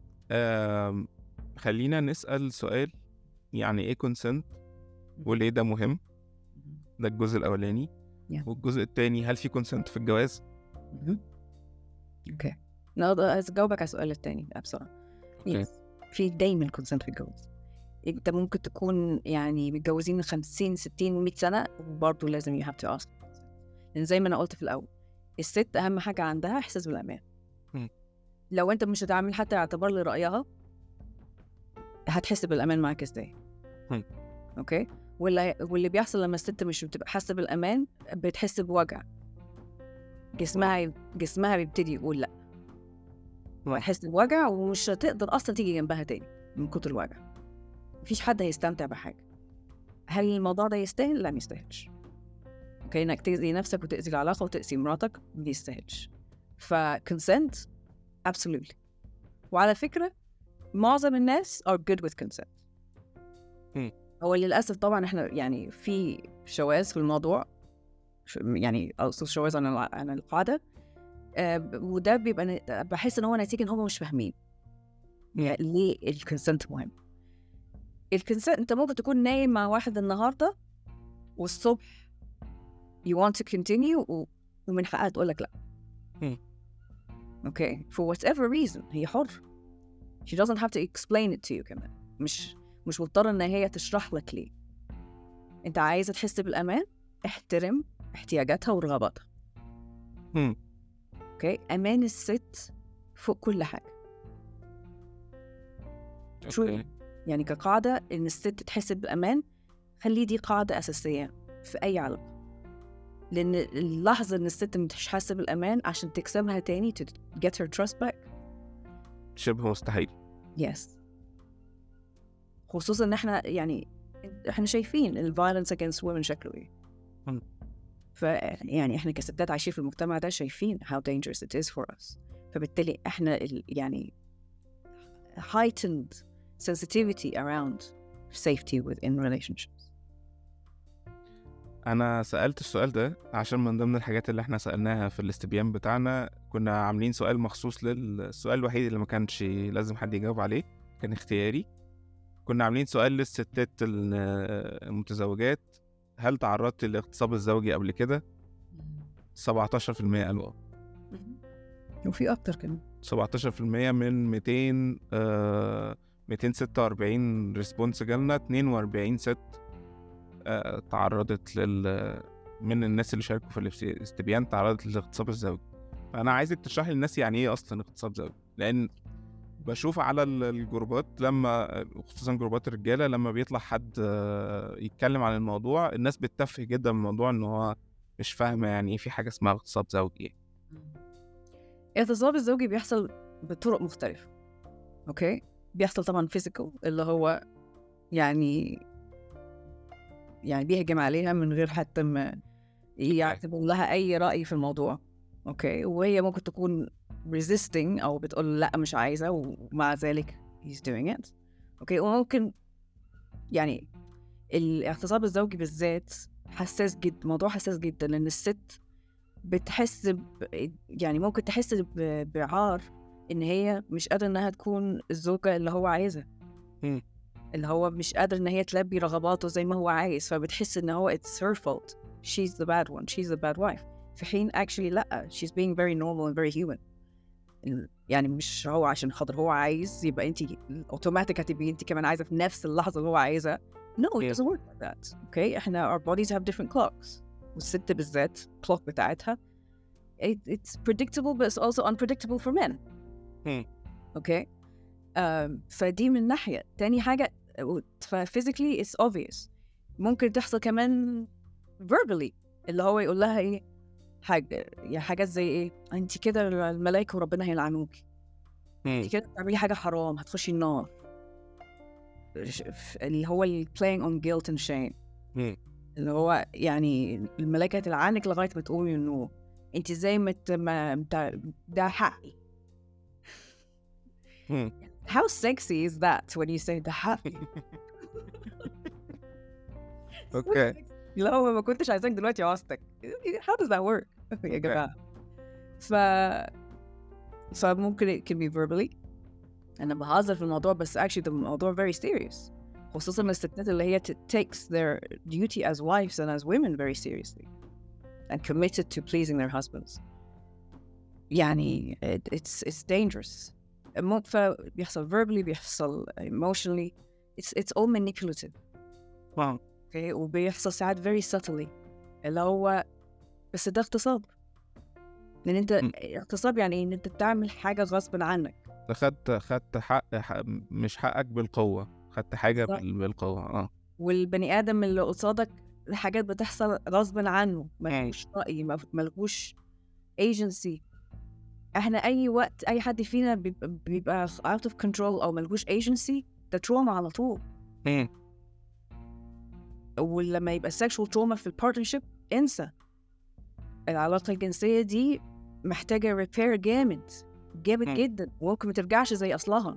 خلينا نسأل سؤال، يعني ايه consent وليه ده مهم؟ ده الجزء الأولاني. والجزء الثاني، هل في consent في الجواز؟ اوكي. نقدر أجاوبك على السؤال الثاني بسرعة. في دايما consent في الجواز. انت ممكن تكون يعني متجوزين 50 60 100 سنه وبرضه لازم you have to ask. لان زي ما انا قلت في الاول الست اهم حاجه عندها احساس بالامان. لو انت مش هتعمل حتى اعتبار لرايها هتحس بالامان معاك ازاي؟ اوكي. واللي بيحصل لما الست مش بتبقى حاسه بالامان بتحس بوجع، جسمها بيبتدي يقول لا، هتحس بوجع ومش هتقدر اصلا تيجي جنبها تاني من كتر الوجع. مفيش حد هيستمتع بحاجه. هل الموضوع ده يستاهل؟ لا، ما يستاهلش. اوكي، انك تأذي نفسك وتأذي العلاقه وتأذي مراتك ما يستاهلش. فكونسنت absolutely. وعلى فكره معظم الناس are good with consent. هو للاسف طبعا احنا يعني في شواذ في الموضوع، يعني اقصد شواذ عن القاعده، وده بيبقى بحس ان هو نتيجه ان هم مش فاهمين يعني ليه الكونسنت مهم. الكونسنت انت ممكن تكون نايم مع واحد النهارده والصبح you want to continue ومن حقها تقول لك لا. اوكي for whatever reason هي حر. she doesn't have to explain it to you كمان. مش مضطره ان هي تشرح لك ليه. انت عايزه تحس بالامان، احترم احتياجاتها ورغباتها. اوكي، امان الست فوق كل حاجه. شو يعني كقاعده ان الست تحس بالامان، خلي دي قاعده اساسيه في اي علاقه. لان اللحظه ان الست مش حاسه بالامان عشان تكسبها تاني to get her trust back شبه مستحيل. yes. خصوصا ان احنا يعني احنا شايفين ال violence against women شكله ايه. يعني احنا كستات عايشين في المجتمع ده شايفين how dangerous it is for us. فبالتالي احنا يعني heightened sensitivity around safety within relationships. انا سألت السؤال ده عشان من ضمن الحاجات اللي احنا سألناها في الاستبيان بتاعنا كنا عاملين سؤال مخصوص للسؤال الوحيد اللي ما كانش لازم حد يجاوب عليه، كان اختياري. كنا عاملين سؤال للستات المتزوجات: هل تعرضت للاغتصاب الزوجي قبل كده؟ 17% قالوا وفي اكتر كمان 17% من 246 ريسبونس جالنا. 42 ست تعرضت من الناس اللي شاركوا في الاستبيان تعرضت للاغتصاب الزوجي. فانا عايزك تشرحي للناس يعني ايه اصلا اغتصاب زوجي، لان بشوف على الجروبات لما خصوصا جروبات الرجاله لما بيطلع حد يتكلم عن الموضوع الناس بتتفه جدا من الموضوع ان هو مش فاهمه يعني ايه في حاجه اسمها اغتصاب زوجي. الاغتصاب الزوجي بيحصل بطرق مختلفه. اوكي، بيحصل طبعا فيزيكال اللي هو يعني بيهجم عليها من غير حتى ما يعتبر لها اي رأي في الموضوع. اوكي، وهي ممكن تكون resisting او بتقول لا مش عايزه ومع ذلك he's doing it. اوكي، وممكن يعني الاغتصاب الزوجي بالذات حساس جدا، موضوع حساس جدا، لان الست بتحس يعني ممكن تحس بعار ان هي مش قادره انها تكون الزوجه اللي هو عايزها، اللي هو مش قادر ان هي تلبي رغباته زي ما هو عايز، فبتحس ان هو it's her fault, she's the bad one, she's the bad wife. في حين actually لا, she's being very normal and very human. يعني مش هو عشان خاطر هو عايز يبقى انت اوتوماتيك هتبقي انت كمان عايزه في نفس اللحظه اللي هو عايزها. No, it doesn't work like that. Okay, احنا our bodies have different clocks. والست بالذات clock بتاعتها it's predictable but it's also unpredictable for men. Okay, فدي من ناحية. تاني حاجة physically it's obvious. ممكن تحصل كمان verbally اللي هو يقول لها ايه حاجات زي ايه انت كده الملائكة وربنا هيلعنوكي، انت كده بتعملي حاجة حرام هتخشي النار، اللي هو playing on guilt and shame. اللي هو يعني الملائكة هتلعنك لغاية ما تقومي من النوم، انت زي ما ده حقي. How sexy is that when you say ده حقي؟ اوكي، لا هو ما كنتش عايزاك دلوقتي عوزتك. How does that work يا جماعة؟ فممكن it can be verbally. أنا بهزر في الموضوع بس actually الموضوع very serious، خصوصا الستات اللي هي takes their duty as wives and as women very seriously and committed to pleasing their husbands. يعني it's dangerous. فبيحصل verbally، بيحصل emotionally، it's all manipulative. اوكي وبيحصل ساعات very subtly اللي هو بس ده اغتصاب. لان انت اغتصاب يعني ان انت بتعمل حاجه غصب عنك. خدت حق مش حقك بالقوه، خدت حاجه بالقوه. والبني ادم اللي قصادك الحاجات بتحصل غصب عنه، ملهوش راي، ملهوش agency. احنا اي وقت اي حد فينا بيبقى out of control او ملهوش agency ده trauma على طول. ولما يبقى sexual trauma في البارتنرشيب انسى. العلاقة الجنسية دي محتاجة repair جامد جدا وممكن ما ترجعش زي أصلها.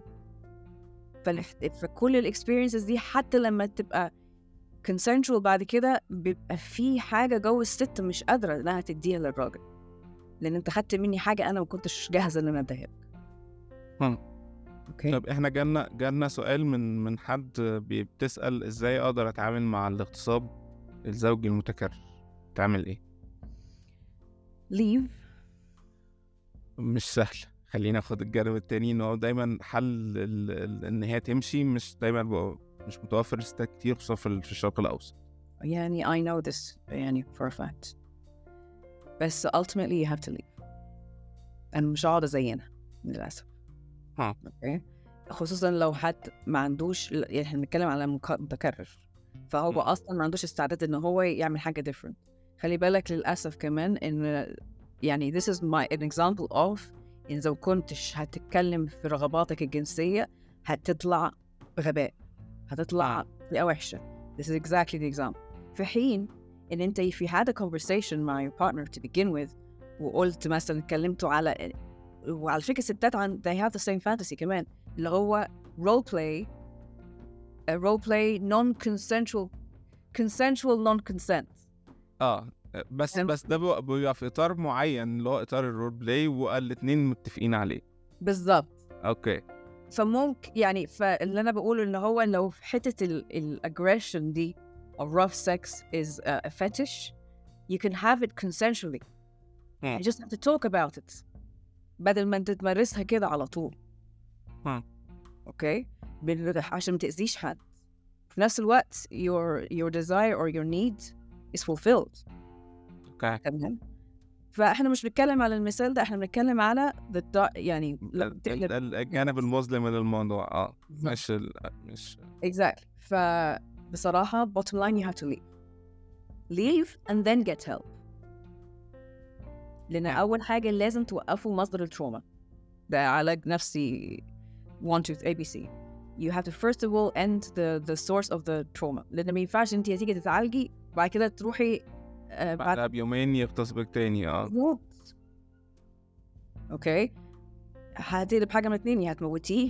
فكل الاكسبيرينسز دي حتى لما تبقى consensual بعد كده بيبقى في حاجة جوه الست مش قادرة إنها تديها للراجل، لأن أنت خدت مني حاجة أنا ما كنتش جاهزة إن أنا أديها لك. اوكي. طب احنا جالنا سؤال من حد بتسأل ازاي اقدر اتعامل مع الاغتصاب الزوجي المتكرر، تعمل ايه؟ leave. مش سهل. خلينا ناخد الجانب التاني، ان هو دايما حل ان هي تمشي مش دايما مش متوفر لستات كتير خصوصا في الشرق الاوسط. يعني I know this يعني for a fact. بس ultimately you have to leave. أنا مش هقعد أزينها للأسف. اوكي. خصوصا لو حد ما عندوش، يعني احنا بنتكلم على متكرر فهو اصلا ما عندوش استعداد ان هو يعمل حاجه different. خلي بالك للاسف كمان ان يعني this is an example of ان لو كنتش هتتكلم في رغباتك الجنسيه هتطلع غباء، هتطلع بطريقه وحشه. this is exactly the example. في حين ان انت if you had a conversation مع your partner to begin with وقلت مثلا اتكلمتوا على، وعلى فكرة الستات they have the same fantasy كمان اللي هو role play non-consensual non-consent. بس ده بيبقى في إطار معين اللي هو إطار الرول بلاي والاتنين متفقين عليه بالظبط. اوكي. فممكن يعني فاللي أنا بقوله إن هو لو في حتة الأجريشن دي or rough sex is a fetish you can have it consensually. You just have to talk about it بدل ما انت تمارسها كده على طول. اوكي. عشان ما تأذيش حد. في نفس الوقت your desire or your need is fulfilled. اوكي. تمام. فاحنا مش بنتكلم على المثال ده، احنا بنتكلم على يعني الجانب المظلم للموضوع. مش exactly. فبصراحة bottom line you have to leave and then get help. لأن أول حاجة لازم توقفوا مصدر التروما ده. علاج نفسي 1 2 ABC. You have to first of all end the source of the trauma. لأن ما ينفعش أنت تيجي تتعالجي بعد كده تروحي بعدها بيومين يغتصبك تاني. اوكي. هتقلب حاجة من اتنين، يا هتموتيه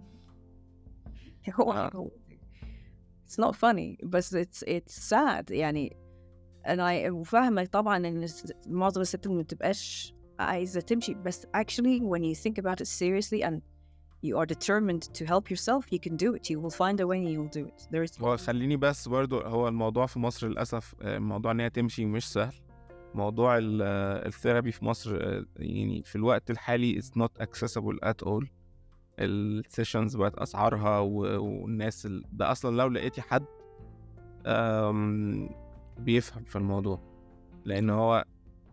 It's not funny بس it's sad. يعني أنا فاهمة طبعاً إن معظم الستات ما بتبقاش عايزة تمشي، بس actually when you think about it seriously and you are determined to help yourself you can do it. You will find a way and you will do it. هو خليني بس برضو، هو الموضوع في مصر للأسف موضوع إن هي تمشي مش سهل. موضوع الثيرابي في مصر يعني في الوقت الحالي it's not accessible at all. السيشنز بقت أسعارها والناس ده أصلاً لو لقيتي حد بيفهم في الموضوع، لأن هو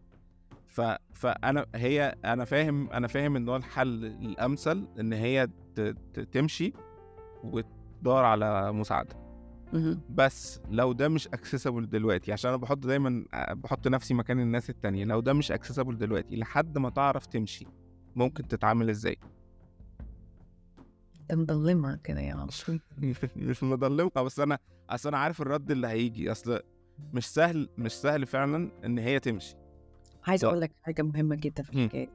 أنا فاهم إن هو الحل الأمثل إن هي تمشي وتدور على مساعدة. بس لو ده مش accessible دلوقتي، عشان أنا دايما بحط نفسي مكان الناس التانية، لو ده مش accessible دلوقتي لحد ما تعرف تمشي ممكن تتعامل إزاي؟ مضلمة كده يا عم. مش مضلمة، بس أنا عارف الرد اللي هيجي. أصل مش سهل فعلا ان هي تمشي. عايز اقول لك حاجه مهمه جدا في الحكايه.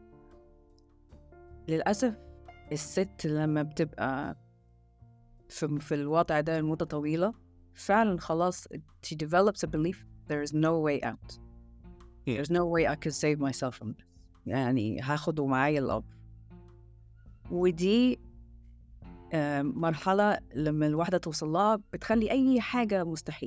للاسف الست لما بتبقى في الوضع ده لمده طويله فعلا خلاص she develops a belief there is no way out. There's no way I can save myself from this. يعني هاخده معايا الأب. ودي مرحلة لما الواحدة توصل لها بتخلي أي حاجة مستحيل.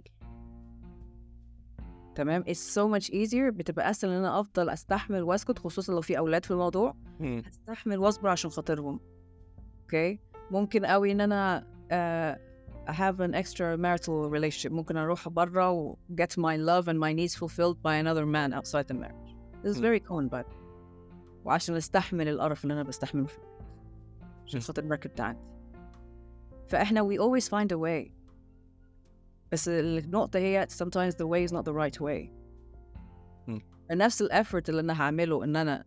تمام. It's so much easier. بتبقى أسهل إن أنا أفضل أستحمل وأسكت، خصوصا لو في أولاد في الموضوع. أستحمل وأصبر عشان خاطرهم. أوكي. ممكن قوي إن أنا have an extramarital relationship. ممكن أروح برا و get my love and my needs fulfilled by another man outside the marriage. This is very common by the way. وعشان أستحمل القرف اللي أنا بستحمله فيه عشان خاطر المركب بتاعتي. فإحنا we always find a way. بس النقطة هي sometimes the way is not the right way. نفس الeffort اللي أنا هعمله إن أنا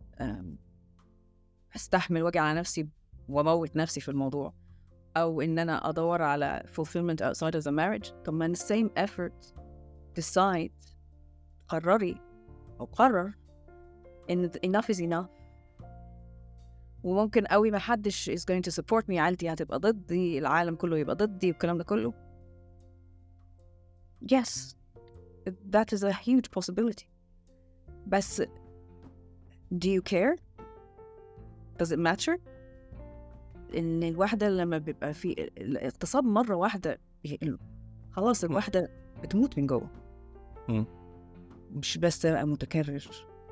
أستحمل وجع على نفسي وأموت نفسي في الموضوع، أو إن أنا أدور على fulfillment outside of the marriage. طب ما the same effort decide قرري أو قرر إن enough is enough. وممكن قوي ما حدش is going to support me، عائلتي هتبقى ضدي، العالم كله يبقى ضدي والكلام ده كله. Yes, that is a huge possibility. بس do you care? Does it matter? إن الواحدة لما بيبقى في الاغتصاب مرة واحدة خلاص الواحدة بتموت من جوه، مش بس متكرر.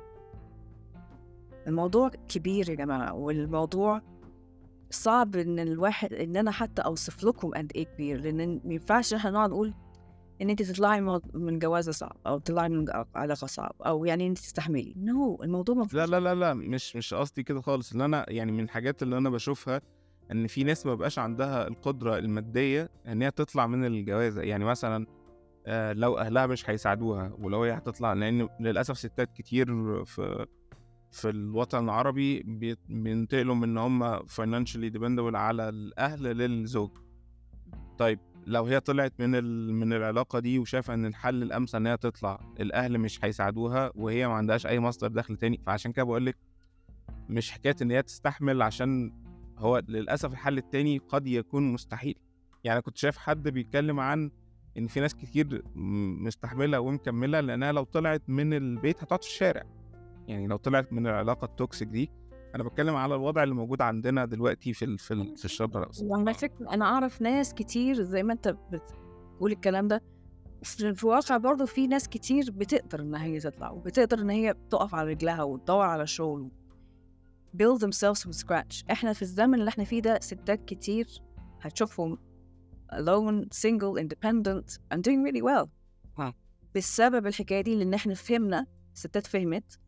الموضوع كبير يا جماعة، والموضوع صعب إن الواحد إن أنا حتى أوصف لكم قد إيه كبير، لأن ما ينفعش إحنا نقعد نقول إن أنت تطلعي من جوازة صعب أو تطلعي من علاقة صعب أو يعني أنت تستحملي. الموضوع ما لا لا لا لا مش قصدي كده خالص. اللي أنا يعني من الحاجات اللي أنا بشوفها إن في ناس ما بقاش عندها القدرة المادية إن هي تطلع من الجوازة. يعني مثلا لو أهلها مش هيساعدوها، ولو هي هتطلع، لأن للأسف ستات كتير في الوطن العربي بينتقلوا من إن هم financially dependable على الأهل للزوج. طيب لو هي طلعت من العلاقة دي وشافة إن الحل الأمثل إن هي تطلع، الأهل مش هيساعدوها وهي ما عندهاش أي مصدر دخل تاني. فعشان كده بقولك مش حكاية إن هي تستحمل، عشان هو للأسف الحل التاني قد يكون مستحيل. يعني كنت شايف حد بيتكلم عن إن في ناس كتير مستحملة ومكملة لأنها لو طلعت من البيت هتقعد في الشارع. يعني لو طلعت من العلاقة التوكسيك دي، أنا بتكلم على الوضع اللي موجود عندنا دلوقتي في الشرق الأوسط. على فكرة أنا أعرف ناس كتير زي ما أنت بتقول الكلام ده، في الواقع برضو في ناس كتير بتقدر إن هي تطلع وبتقدر إن هي تقف على رجلها وتدور على شغل build themselves from scratch. إحنا في الزمن اللي إحنا فيه ده ستات كتير هتشوفهم alone, single, independent and doing really well. بسبب الحكاية دي، لأن إحنا فهمنا، ستات فهمت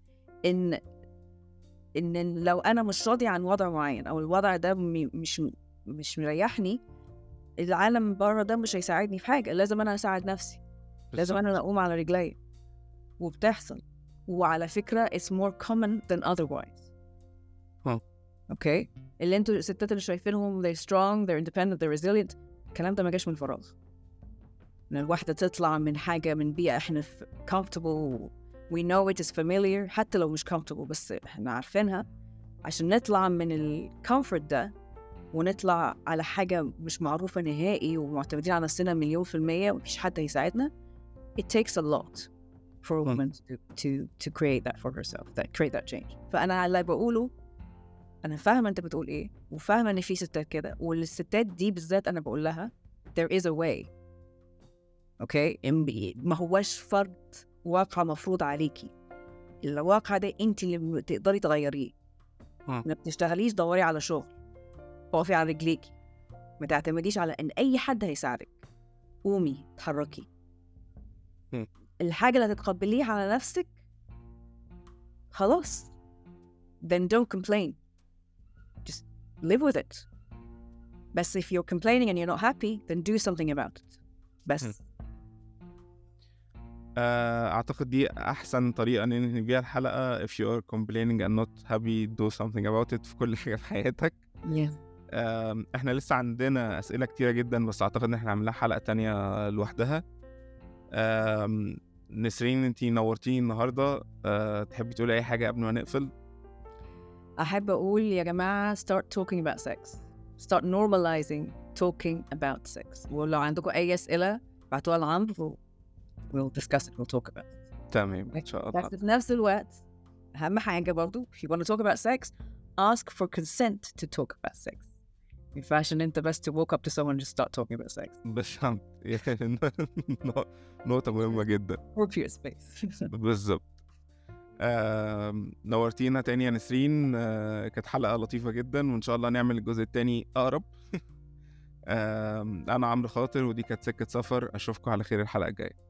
إن لو أنا مش راضي عن وضع معين أو الوضع ده مش مريحني، العالم بره ده مش هيساعدني في حاجة. لازم أنا أساعد نفسي، لازم أنا أقوم على رجلي. وبتحصل، وعلى فكرة it's more common than otherwise. أوكي، اللي أنتوا الستات اللي شايفينهم they're strong, they're independent, they're resilient، الكلام ده ما جاش من فراغ. إن الواحدة تطلع من حاجة، من بيئة إحنا comfortable we know it is familiar، حتى لو مش comfortable بس إحنا عارفينها، عشان نطلع من الcomfort ده ونطلع على حاجة مش معروفة نهائي ومعتمدين على نفسنا 100% ومفيش حد هيساعدنا. It takes a lot for a woman to create that for herself, create that change. فأنا اللي بقوله، أنا فاهمة أنت بتقول إيه، وفاهمة إن في ستات كده، والستات دي بالذات أنا بقول لها there is a way. أوكي، ما هوش فرض واقع مفروض عليكي. الواقع ده أنت اللي تقدري تغيريه. ما بتشتغليش دوري على شغل، اقفي على رجليكي، ما تعتمديش على ان اي حد هيساعدك. قومي اتحركي. الحاجه اللي هتتقبليها على نفسك خلاص then don't complain, just live with it. بس if you're complaining and you're not happy then do something about it. بس أعتقد دي أحسن طريقة ننهي بيها الحلقة. if you are complaining and not happy do something about it في كل حاجة في حياتك. احنا لسه عندنا أسئلة كتيرة جدا، بس أعتقد إن احنا عملنا حلقة تانية لوحدها. نسرين انتي نورتيني النهاردة، تحبي تقولي أي حاجة قبل ما نقفل؟ أحب أقول يا جماعة start talking about sex, start normalizing talking about sex. ولو عندكم أي أسئلة بعتوها لعمرو we'll discuss it, we'll talk about it. تمام إن شاء الله. بس في نفس الوقت أهم حاجة برضو if you want to talk about sex ask for consent to talk about sex. ما ينفعش إن أنت بس to walk up to someone and just start talking about sex. بالظبط، نقطة مهمة جدا. Work your space. بالظبط. نورتينا تاني يا نسرين. كانت حلقة لطيفة جدا، وإن شاء الله نعمل الجزء التاني أقرب. انا عمرو خاطر، ودي كانت سكة سفر. اشوفكم على خير الحلقة الجاية.